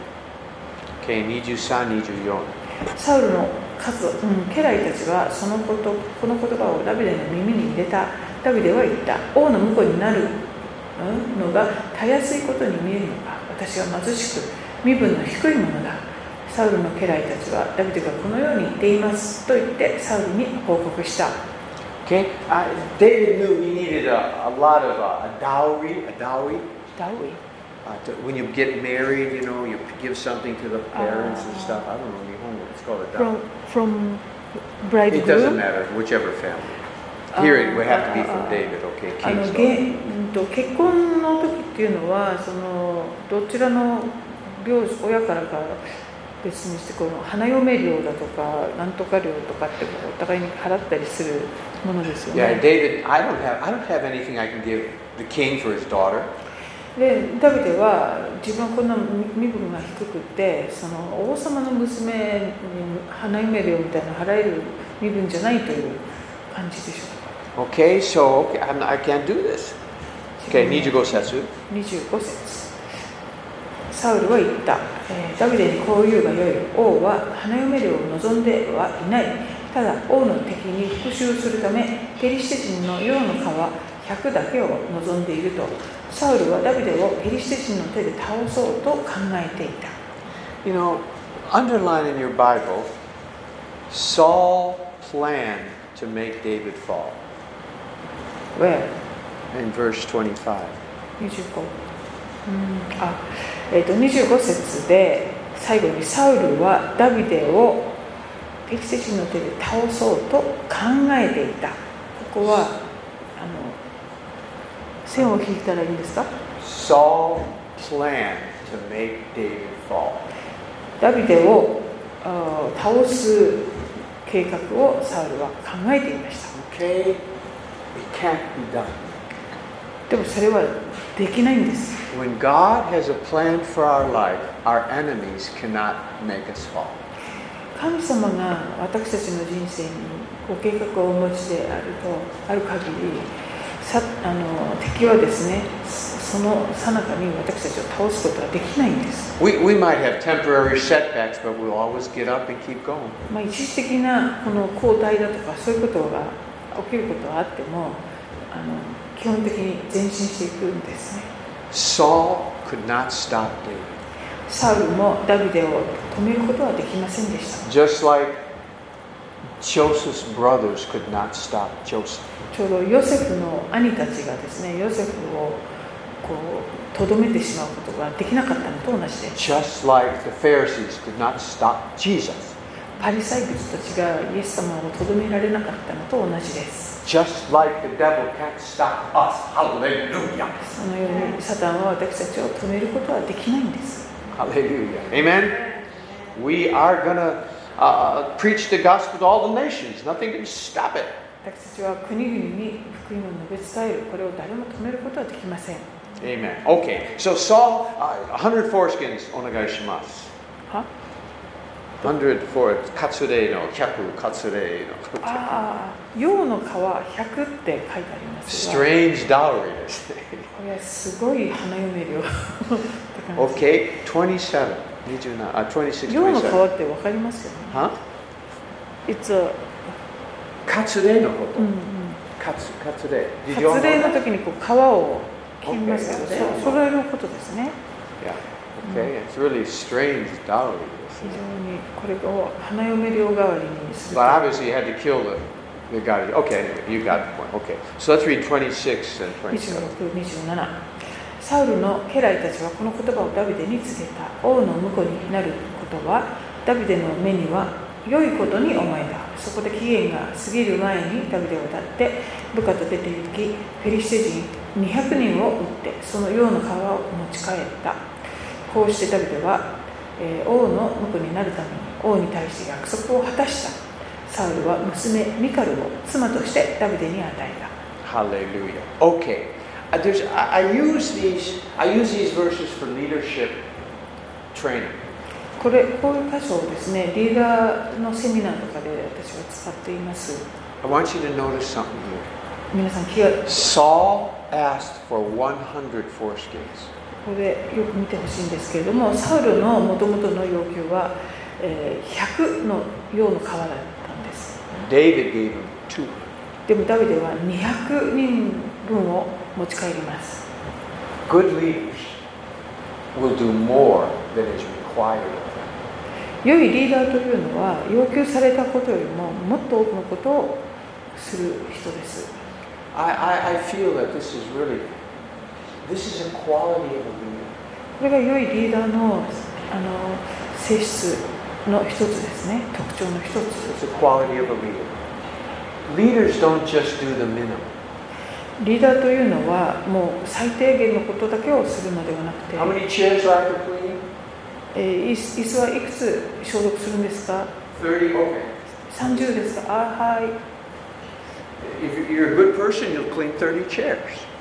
Okay, にじゅうさん、にじゅうよん。 サウルの家族、うん、家来たちはそのこと、この言葉をダビデの耳に入れた。ダビデは言った。王の婿になるのがたやすいことに見えるのか。私は貧しく、身分の低いものだ。サウルの家来たちはダビデがこのように言っていますと言ってサウルに報告した。 Okay, uh, David knew he needed a, a lot of uh, a dowry, a dowry. Dowry? Uh, to, when you get married, you know, you give something to the parents uh, and stuff. I don't know, it's called a dowry. From, from bridegroom? It doesn't matter, whichever family. Here it would have to be from David, okay? あの King's 結婚の時っていうのはそのどちらの両親からか別にしてこの花嫁料だとかなんとか料とかってお互いに払ったりするものですよね。 Yeah, David, I don't have, I don't have anything I can give the king for his daughter. でダビデは自分はこんな身分が低くてその王様の娘に花嫁料みたいなの払える身分じゃないという感じでしょうか。 Okay, so okay, I'm, I can't do this. Okay, にじゅうご節。 にじゅうご節。サウルは言った、えー、ダビデにこう言うがよい。王は花嫁料を望んではいない。ただ王の敵に復讐するためペリシテ人の世の皮ひゃくだけを望んでいると。サウルはダビデをペリシテ人の手で倒そうと考えていた。 You know, underline in your Bible, Saul planned to make David fall. Where? In verse twenty-five. にじゅうご。うんあえー、とにじゅうご節で最後にサウルはダビデをペリシテ人の手で倒そうと考えていた。ここはあの線を引いたらいいんですか？ Saul planned to make David fall. ダビデを倒す計画をサウルは考えていました。 Okay, it can't be done. でもそれはできないんです。 When God has a plan for our life, our enemies cannot make us fall. 神様が私たちの人生にご計画をお持ちであるとある限り、さあの敵はですね、その最中に私たちを倒すことはできないんです。 We, we might have temporary setbacks, but we'll always get up and keep going. まあ一時的なこの後退だとかそういうことが起きることはあっても、あの基本的に前進していくんですね。 Saul could not stop David. サウルもダビデを止めることはできませんでした。 Just like Joseph's brothers could not stop Joseph. ちょうどヨセフの兄たちがですね、ヨセフをこうとどめてしまうことができなかったのと同じです。 Just like the Pharisees could not stop Jesus. パリサイ人たちがイエス様をとどめられなかったのと同じです。 Just like the devil can't stop us. Hallelujah. そのようにサタンは私たちを止めることはできないんです。 Hallelujah. Amen. We are gonna uh, preach the gospel to all the nations. Nothing can stop it. 私たちは国々に福音を述べ伝える。これを誰も止めることはできません。 Amen. Okay. So Saul, uh, one hundred foreskins. お願いします。 は one hundred for カツレのひゃくカツレの。 ああ、陽の皮ひゃくって書いてありますが。 Strange dowry ですね。 これはすごい花嫁料。 Okay. twenty-seven. にじゅうなな. あ、twenty-six. 陽の皮 twenty-seven. ってわかりますよね。 は It's a カツレのこと。 うんうん。 カツカツレ。 割礼の時にこう皮を切りますけど、 Okay. そそれのことですね。 Yeah. Okay. It's really strange dowry. 非常にこれを花嫁料代わりにする。 But obviously you had to kill the, the guy. Okay, anyway, you got the point. Okay. So let's read twenty-six and にじゅうろく、にじゅうなな。サウルの家来たちはこの言葉をダビデに告げた。王の婿になることはダビデの目には良いことに思えた。そこで期限が過ぎる前にダビデを立って部下と出て行き、フェリシテ人にひゃくにんを撃ってその陽の皮を持ち帰った。こうしてダビデは、えー、王の婿になるために王に対して約束を果たした。サウルは娘ミカルを妻としてダビデに与えた。 Hallelujah. Okay. Uh, there's, I, I use these. I use these verses for leadership training. これこういう箇所をですね、リーダーのセミナーとかで私は使っています。 I want you to notice something here. 皆さん気が Saul asked for one hundred foreskins. ここでよく見てほしいんですけれども、サウルのもともとの要求は、えー、ひゃくの陽の皮だったんです。 David gave him two. でもダビデはにひゃくにんぶんを持ち帰ります。 Good leaders will do more than is required of them. 良いリーダーというのは要求されたことよりももっと多くのことをする人です。 I, I, I feel that this is really, this is a quality of a leader. これが良いリーダーの、あの性質の一つですね。特徴の一つ。 It's a quality of a leader. Leaders don't just do the minimum. リーダーというのはもう最低限のことだけをするのではなくて、 How many chairs do I have to clean? えー、椅子椅子はいくつ消毒するんですか？ thirty? Okay. さんじゅうですか？あ、はい。 If you're a good person, you'll clean thirty chairs.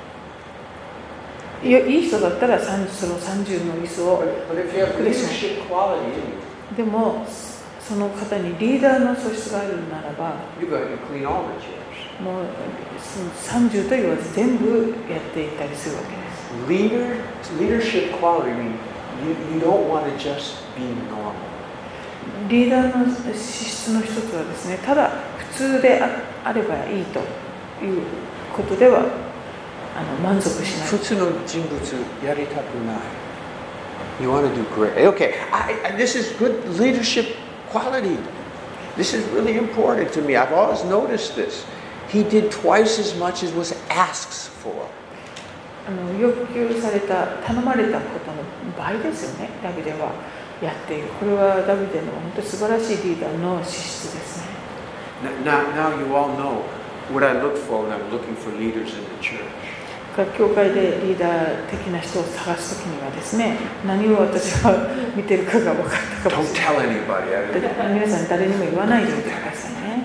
いや、いい人だったらさんじゅうそのさんじゅうの椅子を But, but if you have leadership quality in you, でもその方にリーダーの素質があるならば you go ahead and clean all the chairs. もうそのさんじゅうと言わず全部やっていたりするわけです。 Leader, leadership quality, I mean, you, you don't want to just be normal. リーダーの資質の一つはですね、ただ普通で あ, あればいいということではあの満足しない。 普通の人物やりたくない。You want to do great. Okay, I, I, this is good leadership quality. This is really important to me. I've always noticed this. He did twice as much as was asked for. あの要求された、頼まれたことの倍ですよね、ダビデはやっている。これはダビデの本当に素晴らしいリーダーの資質ですね。 Now, now you all know what I look for when I'm looking for leaders in the church. 教会でリーダー的な人を探すときにはですね、何を私は見てるかが分かったかも Don't しれない。 tell anybody. I don't- 皆さん誰にも言わないでおいてくださいね。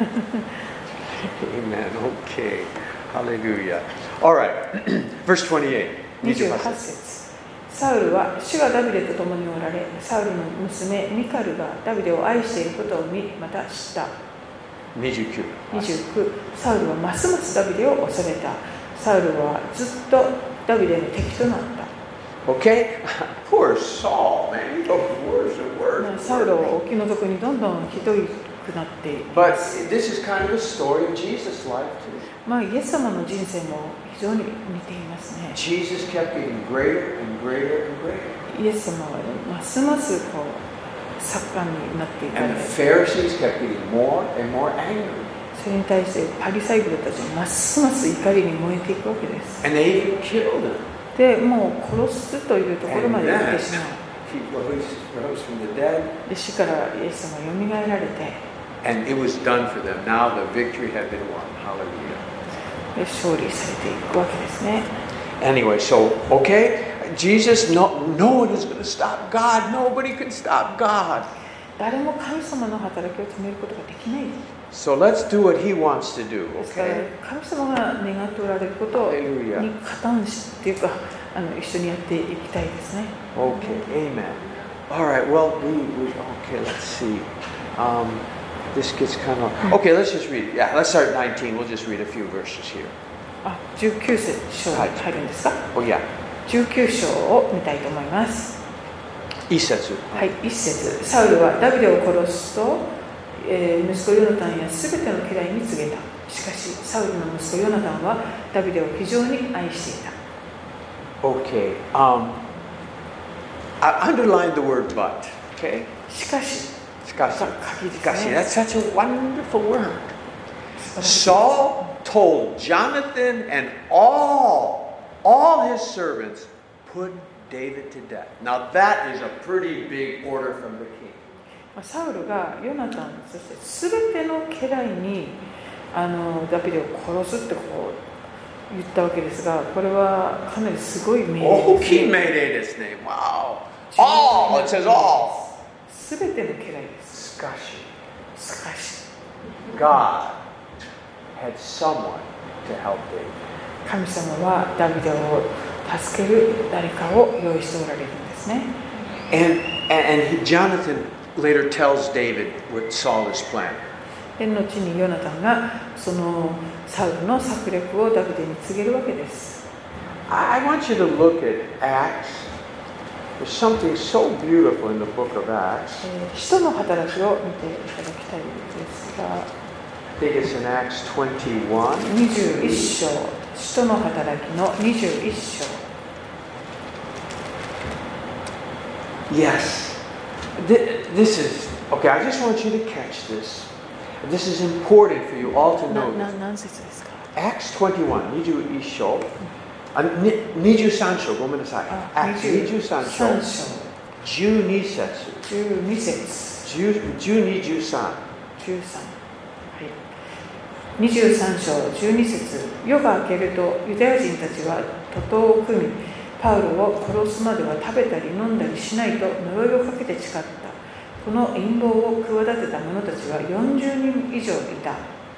Amen. Okay. Hallelujah. All right. Verse twenty-eight. にじゅうはち節。サウルは主がダビデと共におられ、サウルの娘ミカルがダビデを愛していることを見、また知った。 twenty-nine. にじゅうきゅう。サウルはますますダビデを恐れた。サウルはずっとダビデの敵となった。 Okay? Poor Saul, man. He goes worse and worse. サウルはお気の毒にどんどんひどくなっていま But す。 this is kind of a story of Jesus' life too. まあ、イエス様の人生も非常に似ていますね。 Jesus kept getting greater and greater and greater. イエス様はますますこう盛んになっていか And れ、 the Pharisees kept getting more and more angry. それに対してパリサイ人たちはますます怒りに燃えていくわけです。 And they even killed him. でもう殺すというところまで行ってしまう。 He rose, rose from the dead. で死からイエス様がよみがえられて、 And it was done for them. Now the victory had been won. Hallelujah. で勝利されていくわけですね。 Anyway, so, okay, Jesus, no, no one is going to stop God. Nobody can stop God. 誰も神様の働きを止めることができない。 So let's do what he wants to do, ですから okay? 神様が願っておられること Hallelujah. に加担しっていうかあの一緒にやっていきたいですね。 Okay, amen. All right, well, we, we okay, let's see. Um, this gets kind of, okay, let's just read it. Yeah, let's start at nineteen. We'll just read a few verses here. あ、じゅうきゅう節に入るんですか？ Oh, yeah. じゅうきゅう章を見たいと思います。 一節。 はい、一節。サウルはダビデを殺すと、えー、息子ヨナタンやすべての家来に告げた。しかし、サウルの息子ヨナタンはダビデを非常に愛していた。 Okay, um, I underlined the word but, okay? しかし、 しかし、 が鍵ですしかし、 ね。 that's such a wonderful word. Saul told Jonathan and all, all his servants, put David to death. Now that is a pretty big order from the king. サウルがヨナタン、そしてすべての家来にあのダビデを殺すってこう言ったわけですが、これはかなりすごい命令大ですきい命令ですね。Wow. All, it says all. すべての家来です。 しかし、 しかし、 God had someone to help David. 神様はダビデを助ける誰かを用意しておられるんですね。 And, and, and he, Jonathan later tells David what Saul is planning. で後にヨナタンがそのサウルの策略をダビデに告げるわけです。 I want you to look at Acts. There's something so beautiful in the book of Acts. えー使徒の働きを見ていただきたいですが、 I think it's in Acts twenty-one. にじゅういっ章、使徒の働きのにじゅういっ章。 Yes. Th- This is, okay, I just want you to catch this. This is important for you all to な know な this. 何節ですか？ Acts twenty-one, にじゅういっ章。あ、ににじゅうさん章、ごめんなさい。 あ Acts にじゅうさん章、 にじゅうさん章、 じゅうに節、 じゅうに節、 じゅう、じゅうに、じゅうさん。 じゅうさん、はい、にじゅうさん章じゅうに節。夜が明けるとユダヤ人たちは徒党を組み、パウロを殺すまでは食べたり飲んだりしないと呪いをかけて誓った。この陰謀を企てた者たちはよんじゅうにん以上いた。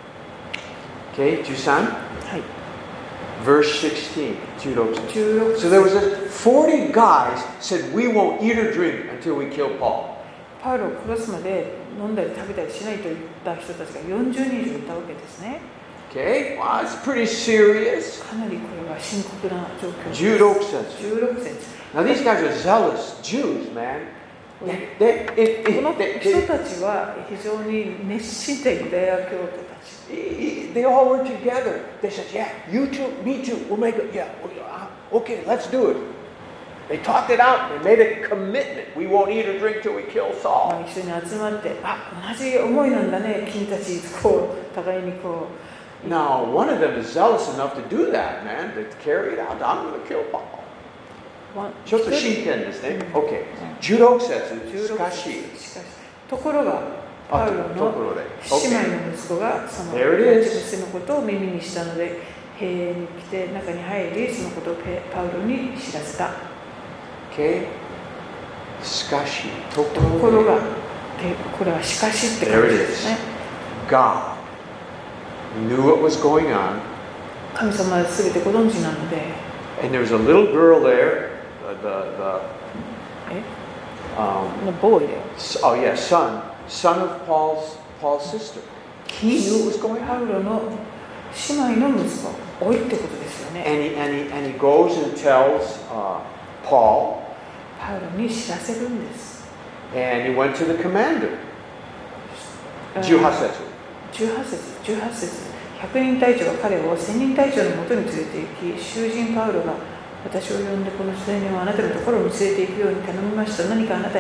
Okay, じゅうさん. はい、 Verse sixteen, じゅうろく節。 じゅうろく So there was a, forty guys said, we won't eat or drink until we kill Paul. パウロを殺すまで飲んだり食べたりしないと言った人たちがよんじゅうにん以上いたわけですね。 Okay, well, it's pretty serious. かなりこれは深刻な状況です。 じゅうろく節。 じゅうろく節。 Now these guys are zealous Jews, man. They, they, it, この it, they, 人 they, たちは非常に熱心なユダヤ教徒たち。 they all were together. They said, yeah, you too, me too, we'll make it, yeah, okay, let's do it. They talked it out, they made a commitment. We won't eat or drink till we kill ま Saul. あ、一緒に集まって、あ、同じ思いなんだね、君たち、こう、互いにこう。 Now, one of them is zealous enough to do that, man, to carry it out. I'm going to kill Paul. わちょっと真剣ですね。 うん OK。じゅうろく節。 じゅうろくしかし。 節しかしところが、パウロところで。 の姉妹の息子がその There it is. 娘のことを耳にしたので、兵に来て中に入り、そのことをパウロに知らせた。 OK。しかし。とところが、これはしかしって感じですね。 God knew what was going on. 神様は全てご存知なので、 And there was a little girl there, the, the, the え um, のボーイだよ。 oh yeah, son, son of Paul's, Paul's sister. He knew what was going パ on. ウロの姉妹の息子、老いってことですよね。 And he, and he, and he goes and tells uh, Paul, パウロに知らせるんです。 and he went to the commander. じゅうはち節。 じゅうはち節、じゅうはち節。ひゃくにん隊長が彼を千人隊長のもとに連れて行き、囚人パウロが私を呼んでこの青年をあなたのところに連れて行くように頼みました。何かあなたに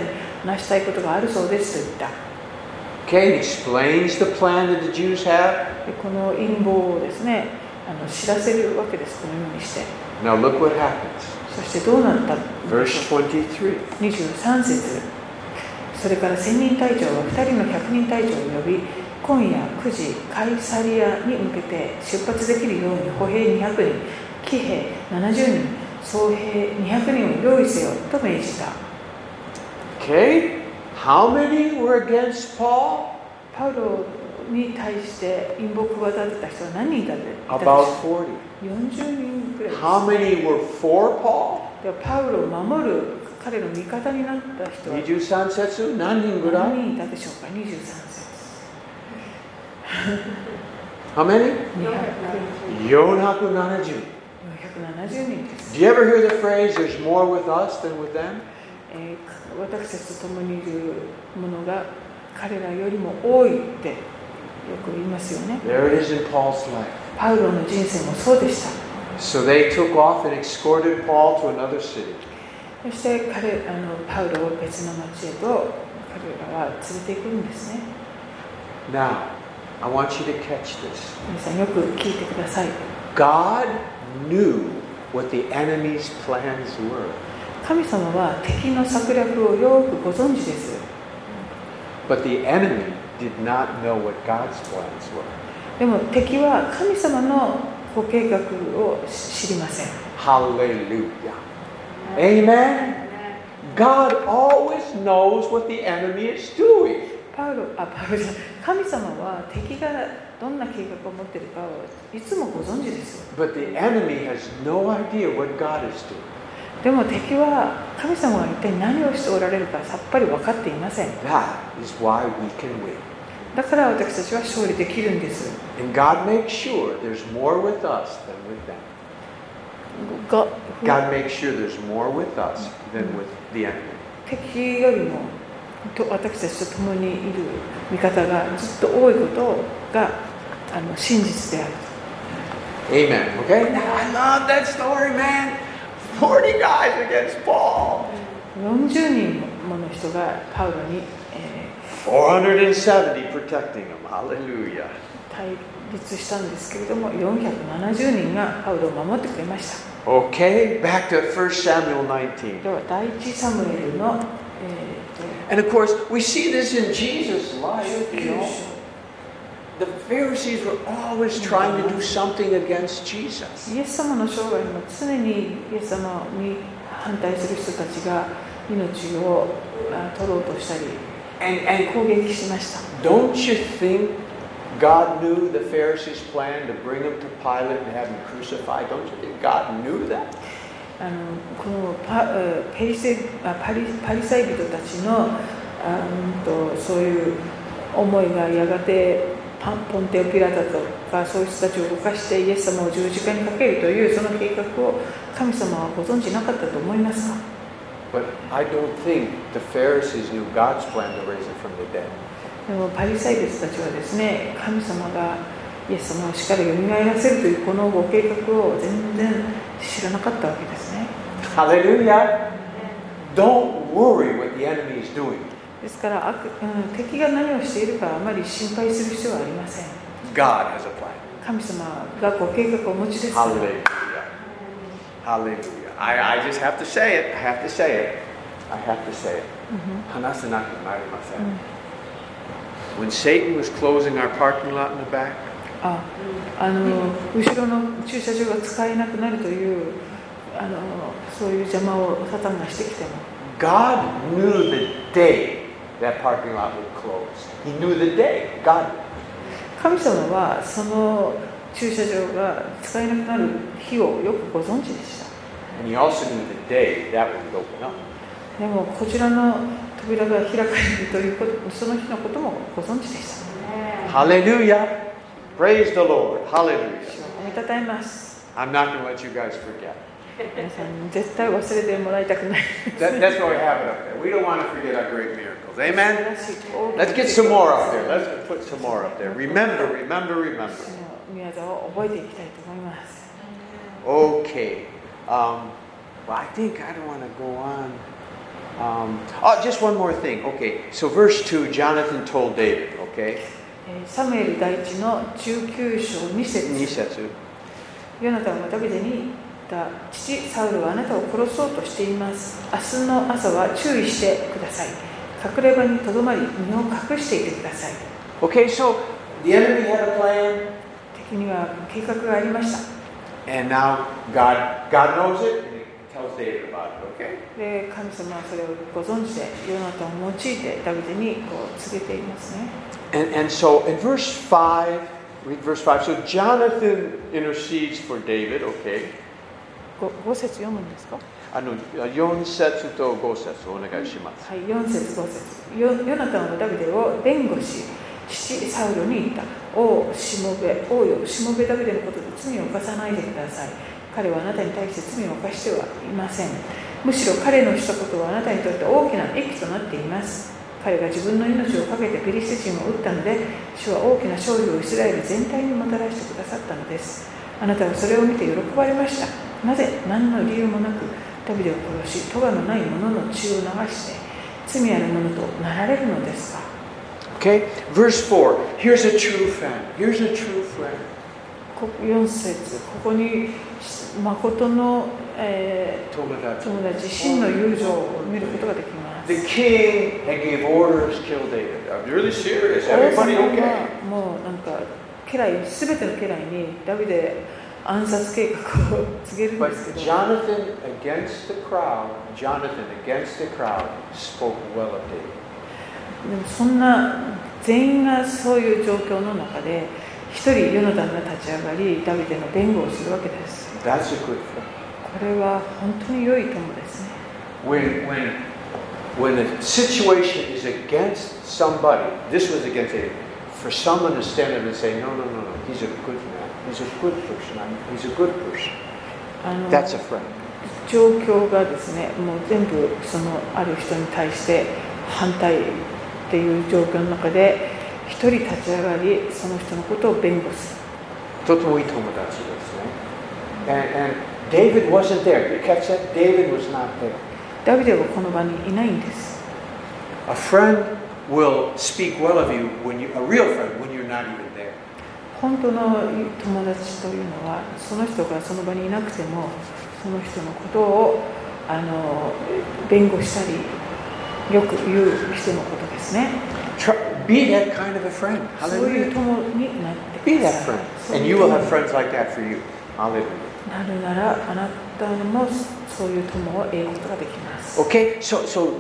成したいことがあるそうですと言った。 Okay, it explains the plan that the Jews have. でこの陰謀をですね、あの知らせるわけです、このようにして。 Now look what happens. そしてどうなったので Verse しょうか。 twenty-three. にじゅうさん節。それから千人隊長は二人の百人隊長を呼び、今夜くじカイサリアに向けて出発できるように歩兵にひゃくにん、騎兵ななじゅうにん、総兵にひゃくにんを用意せよと命じた。 Okay, how many were against Paul? パウロに対して陰謀を企てた人は何人いたでしょう About forty. よんじゅうにんくらいです。 How many were for Paul? ではパウロを守る彼の味方になった人はにじゅうさん節何人ぐらい？ 何人いたでしょうか。にじゅうさん節。 How many? にひゃくよんひゃくななじゅう。 よんひゃくななじゅうにんです。 Do you ever hear the phrase, there's more with us than with them? えー、私たちと共にいるものが彼らよりも多いってよく言いますよね。 There it is in Paul's life. パウロの人生もそうでした。 So they took off and escorted Paul to another city. そして彼あのパウロを別の町へと彼らは連れて行くんですね。 Now, I want you to catch this. 皆さんよく聞いてください。 God knew what the enemy's plans were. 神様は敵の策略をよくご存知です。 But the enemy did not know what God's plans were. でも敵は神様のご計画を知りません。 Hallelujah. Amen. God always knows what the enemy is doing. パウロ、あ、パウロじゃない、神様は敵がどんな計画を持っているかをいつもご存知ですよ。 But the enemy has no idea what God is doing. でも敵は神様が一体何をしておられるかさっぱり分かっていません。 That is why we can win. だから私たちは勝利できるんです。 And God makes sure there's more with us than with them. が God makes sure there's more with us than with the enemy. 敵よりもと私たちと共にいる味方がずっと多いことがあの真実である。 Amen. Okay? Now, I love that story, man. forty guys against Paul. よんじゅうにんもの人がパウロに、えー、 four hundred seventy protecting him. Hallelujah. 対立したんですけれども、よんひゃくななじゅうにんがパウロを守ってくれました。 Okay, back to First Samuel nineteen. では第一サムエルの、え And of course, we see this in Jesus' life. You know, the Pharisees were always trying to do something against Jesus. ー、イエス様の生涯も常にイエス様に反対する人たちが命を取ろうとしたり And, and 攻撃しました。 don't you think God knew the Pharisees' plan to bring him to Pilate and have him crucified? Don't you think God knew that? あのこの パ, ペリセあ パ, リパリサイ人たちのあんとそういう思いがやがてパンポンテオピラタとかそういう人たちを動かしてイエス様を十字架にかけるというその計画を神様はご存知なかったと思いますか？ But I don't think the Pharisees knew God's plan to raise him from the dead. でもパリサイ人たちはですね、神様がイエス様を死から蘇らせるというこのご計画を全然知らなかったわけですね。 Hallelujah. Don't worry what the enemy is doing. ですから悪、うん、敵が何をしているかあまり心配する必要はありません。 God has a plan. 神様がご計画をお持ちです。 Hallelujah. Hallelujah. I, I just have to say it. I have to say it. I have to say it. 話せなくなりません。When Satan was closing our parking lot in the back, あ、あの後ろの駐車場が使えなくなるというあのそういう邪魔をサタンがしてきても、 God knew the day that parking lot would close. He knew the day. God. 神様はその駐車場が使えなくなる日をよくご存知でした。 And he also knew the day that would open up. でもこちらの扉が開かれるということ、その日のこともご存知でした。 Hallelujah. Praise the Lord. Hallelujah. おめたたえます。 I'm not going to let you guys forget. 皆さん絶対忘れてもらいたくない。 That, that's why we have it up there. We don't want to forget our great miracles. Amen? Let's get some more up there. Let's put some more up there. Remember, remember, remember. 宮沢を覚えていきたいと思います。 Okay. Um, well, I think I don't want to go on Um, oh, just one more thing. Okay, so verse two, Jonathan told David, okay? えーサムエル第一のじゅうきゅう章に節、 に節。 ヨナタンはダビデに言った。父サウルはあなたを殺そうとしています。明日の朝は注意してください。隠れ場にとどまり身を隠していてください。 Okay, so the enemy had a plan, 敵には計画がありました。 and now God, God knows it, and He tells David about it, okay? で、神様はそれをご存知で、ヨナタンを用いてダビデにこう告げていますね。 And, and so in verse five, read verse five. So Jonathan intercedes for David, okay? ご, ご節読むんですか？ あのよん節とご節お願いします。 はい、よん節ご節。ヨヨナタンはダビデを弁護し、父サウルに言った。王しもべ、王よ、しもべダビデのことで罪を犯さないでください。彼はあなたに対して罪を犯してはいません。むしろ彼のしたことはあなたにとって大きな益となっています。彼が自分の命を懸けてペリシテ人を撃ったので、主は大きな勝利をイスラエル全体にもたらしてくださったのです。あなたはそれを見て喜ばれました。なぜ何の理由もなくダビデを殺し、咎のない者の血を流して罪ある者となられるのですか？ Okay, verse four. Here's a true friend. Here's a true friend. よん節、ここに誠の、えー、 友達。 友達、真の友情を見ることができます。 The king had gave orders to kill David. I'm really serious. 王 Everybody 様 okay? はもうなんか家来、すべての家来にダビデ暗殺計画を告げるんで But すけど、 Jonathan against the crowd, Jonathan against the crowd spoke well of David. でもそんな全員がそういう状況の中で一人ヨナタンが立ち上がりダビデの弁護をするわけです。 That's a good friend. これは本当に良い友ですね。 When, when, when a situation is against somebody, this was against David, for someone to stand up and say, no, no, no, no, he's a good man, he's a good person, he's a good person. あの That's a friend. 状況がですね、もう全部そのある人に対して反対っていう状況の中で一人立ち上がり、その人のことを弁護する。 とてもいい友達ですね。And, and David wasn't there. You catch that? David was not there. ダビデはこの場にいないんです。 A friend will speak well of you when you, a real friend, when you're not even there. 本当の友達というのは、その人がその場にいなくても、その人のことをあの弁護したり、よく言う人のことですね。 Be that kind of a friend. そういう Hallelujah. 友になって Be くだ that さい。 friend. And you will have friends like that for you. Hallelujah. なるなら、あなたもそういう友を得ることができます。 Okay, so, so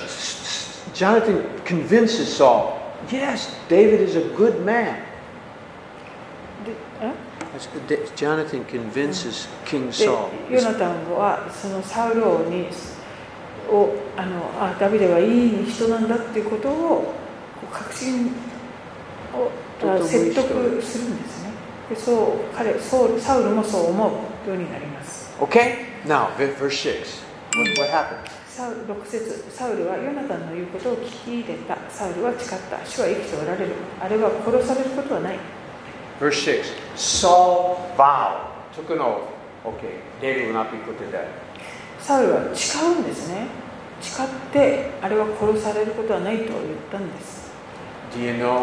Jonathan convinces Saul, yes, David is a good man. でえ Jonathan convinces King で Saul. ヨナタンはそのサウル王にをあのあダビデはいい人なんだっていうことをこう確信をあ説得するんですね。でそう彼そうサウルもそう思うようになります。 Okay, now verse six. What, what happened? サウルろく節、サウルはヨナタンの言うことを聞き入れた。サウルは誓った。主は生きておられる。あれは殺されることはない。 Verse six. Saul vowed, took an oath. Okay, David will not be put to death. サウルは誓うんですね。誓ってあれは殺されることはないと言ったんです。 Do you know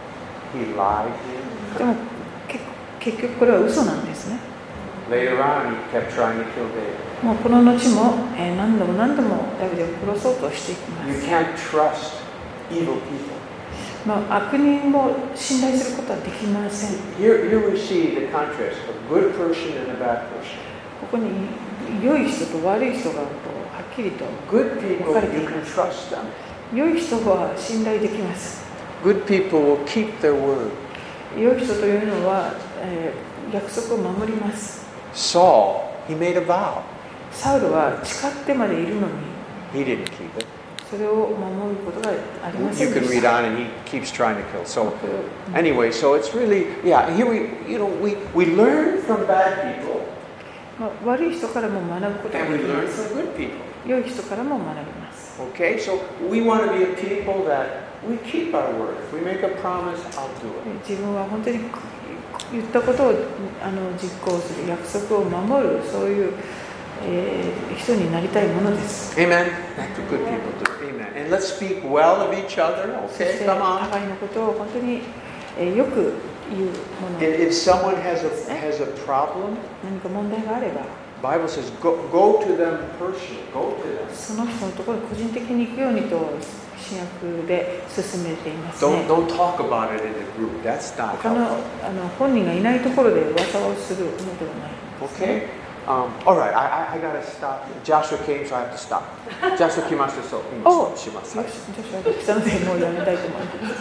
he lied? でも結局これは嘘なんですね。 Later on, he kept trying to kill David. もうこの後も、えー、何度も何度もダビデを殺そうとしていきま You す。 can't trust evil people. まあ、悪人も信頼することはできません。 Here, here we see the contrast: a good person and a bad person. ここに良い人と悪い人がこうはっきりと Good people, 分かれて you い can ます。 trust them. 良い人は信頼できます。 Good people will keep their word. 良い人というのは、えー、約束を守ります。 Saul, he made a vow. サウルは誓ってまでいるのに He didn't keep it. それを守ることがありませ You んで can し read た。 on, and he keeps trying to kill. So, anyway, so it's really, yeah. Here we, you know, we we learn from bad people, まあ、悪い人からも学ぶことが and で we きま learn す。 from good people. 良い人からも学びます。 Okay, so we want to be a people that we keep our word. If we make a promise, I'll do it. 自分は本当に言ったことをあの実行する、約束を守る、そういう、 えー人になりたいものです。 Amen. That's what good people do. Amen. And let's speak well of each other. そし Okay, て come on. 互いのことを本当に、えーよく言うもの If, if someone has a has a problem, 何か問題があれば Bible says go go to them personally. Go to them. その人のところに個人的に行くようにと新約で進めていますね。 Don't don't talk about it in the group. That's not 他の helpful. あの本人がいないところで噂をするのではないですね。 Okay. Um, all right. I I, I gotta stop. Joshua came, so I have to stop. Joshua 来ました、そう今おします。 よし、女子は来たのでもうやめたいと思います。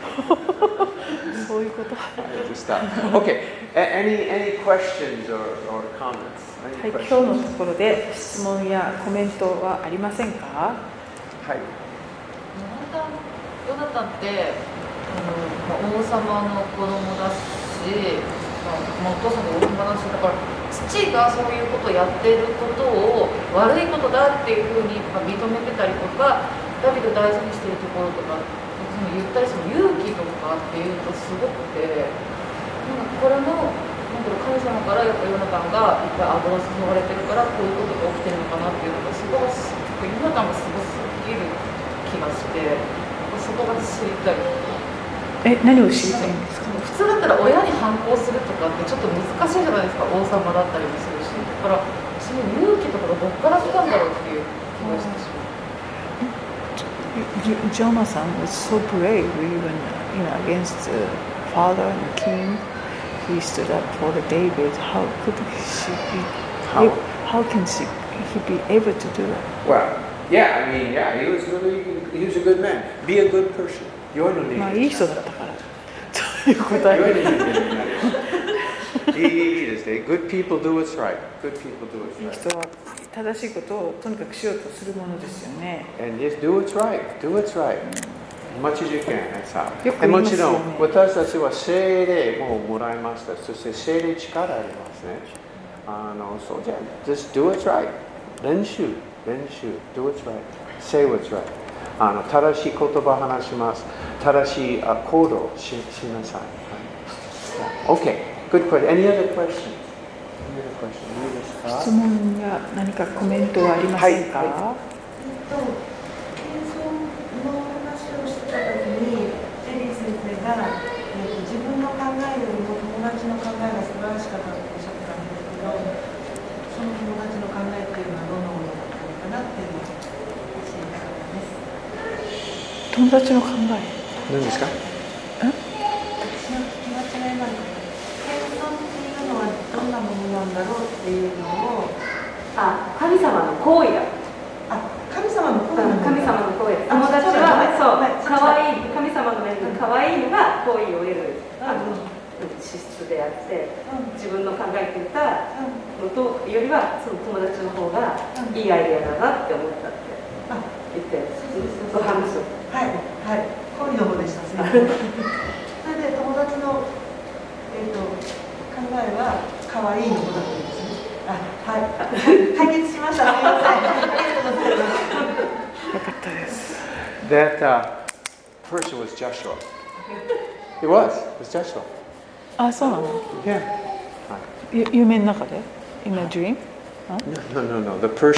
そういうこと。 I have to stop. Okay. A- Any any questions or or comments? は Any い、今 questions? 日のところで質問やコメントはありませんか？ はい。 ヨナタンってあの、まあ、王様の子供だし、まあ、お父さんが王様だし、だから父がそういうことをやっていることを悪いことだっていうふうに認めてたりとか、ダビデを大事にしているところとか、その言ったりその勇気とかっていうとすごくて、なんかこれもなんだろう、神様からやっぱヨナタンがいっぱい油を注がれてるからこういうことが起きてるのかなっていうのがすごいヨナタンがすごすぎる気がして、そこが知りたい。 え、何を知りたいんですか？ 普通だったら親に反抗するとかってちょっと難しいじゃないですか、王様だったりもするし、だからその勇気とかがどっから来たんだろうっていう気がしてしまう。 Jonathan was so brave even you know against the father and the king. He stood up for the David. How could she be? How? How can she he be able to do that? Well, yeah. I mean, yeah. He was really he was a good man. Be a good person. 良いの人間。 まあいい人だったから。という答え。 良いの人間になる。いいいいですね。Good people do what's right. Good people do what's いい right. 人は正しいことをとにかくしようとするものですよね。 And just do what's right. Do what's right. As much as you can. That's how. よく言いもますよね。 ちろん私たちは聖霊ももらいました。そして聖霊力ありますね。あのそうじゃ just do what's right. 練習練習 do what's right. Say what's right. あの正しい言葉を話します。正しい行動をしなさい。Okay. Good question. Any other questions? Any other questions? いいですか？ 質問や何かコメントはありませんか？ はいえっと、謙遜の話をしてたときに、ジェリー先生が、えっと、自分の考えよりも友達の考えが素晴らしかったとおっしゃってたんですけど、その友達の考えっていうのはどんなものだったのかなっていうのを知りたかったです。 友達の考え。 何ですか？ 私の聞き間違いなんです。謙遜っていうのはどんなものなんだろうっていうのを、 あ、神様の行為だ。 あ、神様の声神様の行為。友達はそう、可愛い神様の目に可愛いのが好意を得るあの資質であって、自分の考えていたのとよりはその友達の方がいいアイデアだなって思ったって言って、そう話を。 はいはい、好意の方でした。すみません。それで友達のえっと考えは可愛いの方だったんですね。あ、はい、解決しました。すみません。ありがとうございます。 よかったです。 That uh, person was Joshua. It was. It was Joshua. あ、そうなの？ Yeah. ゆ夢の中で？In a dream？ No, no, no, no. The person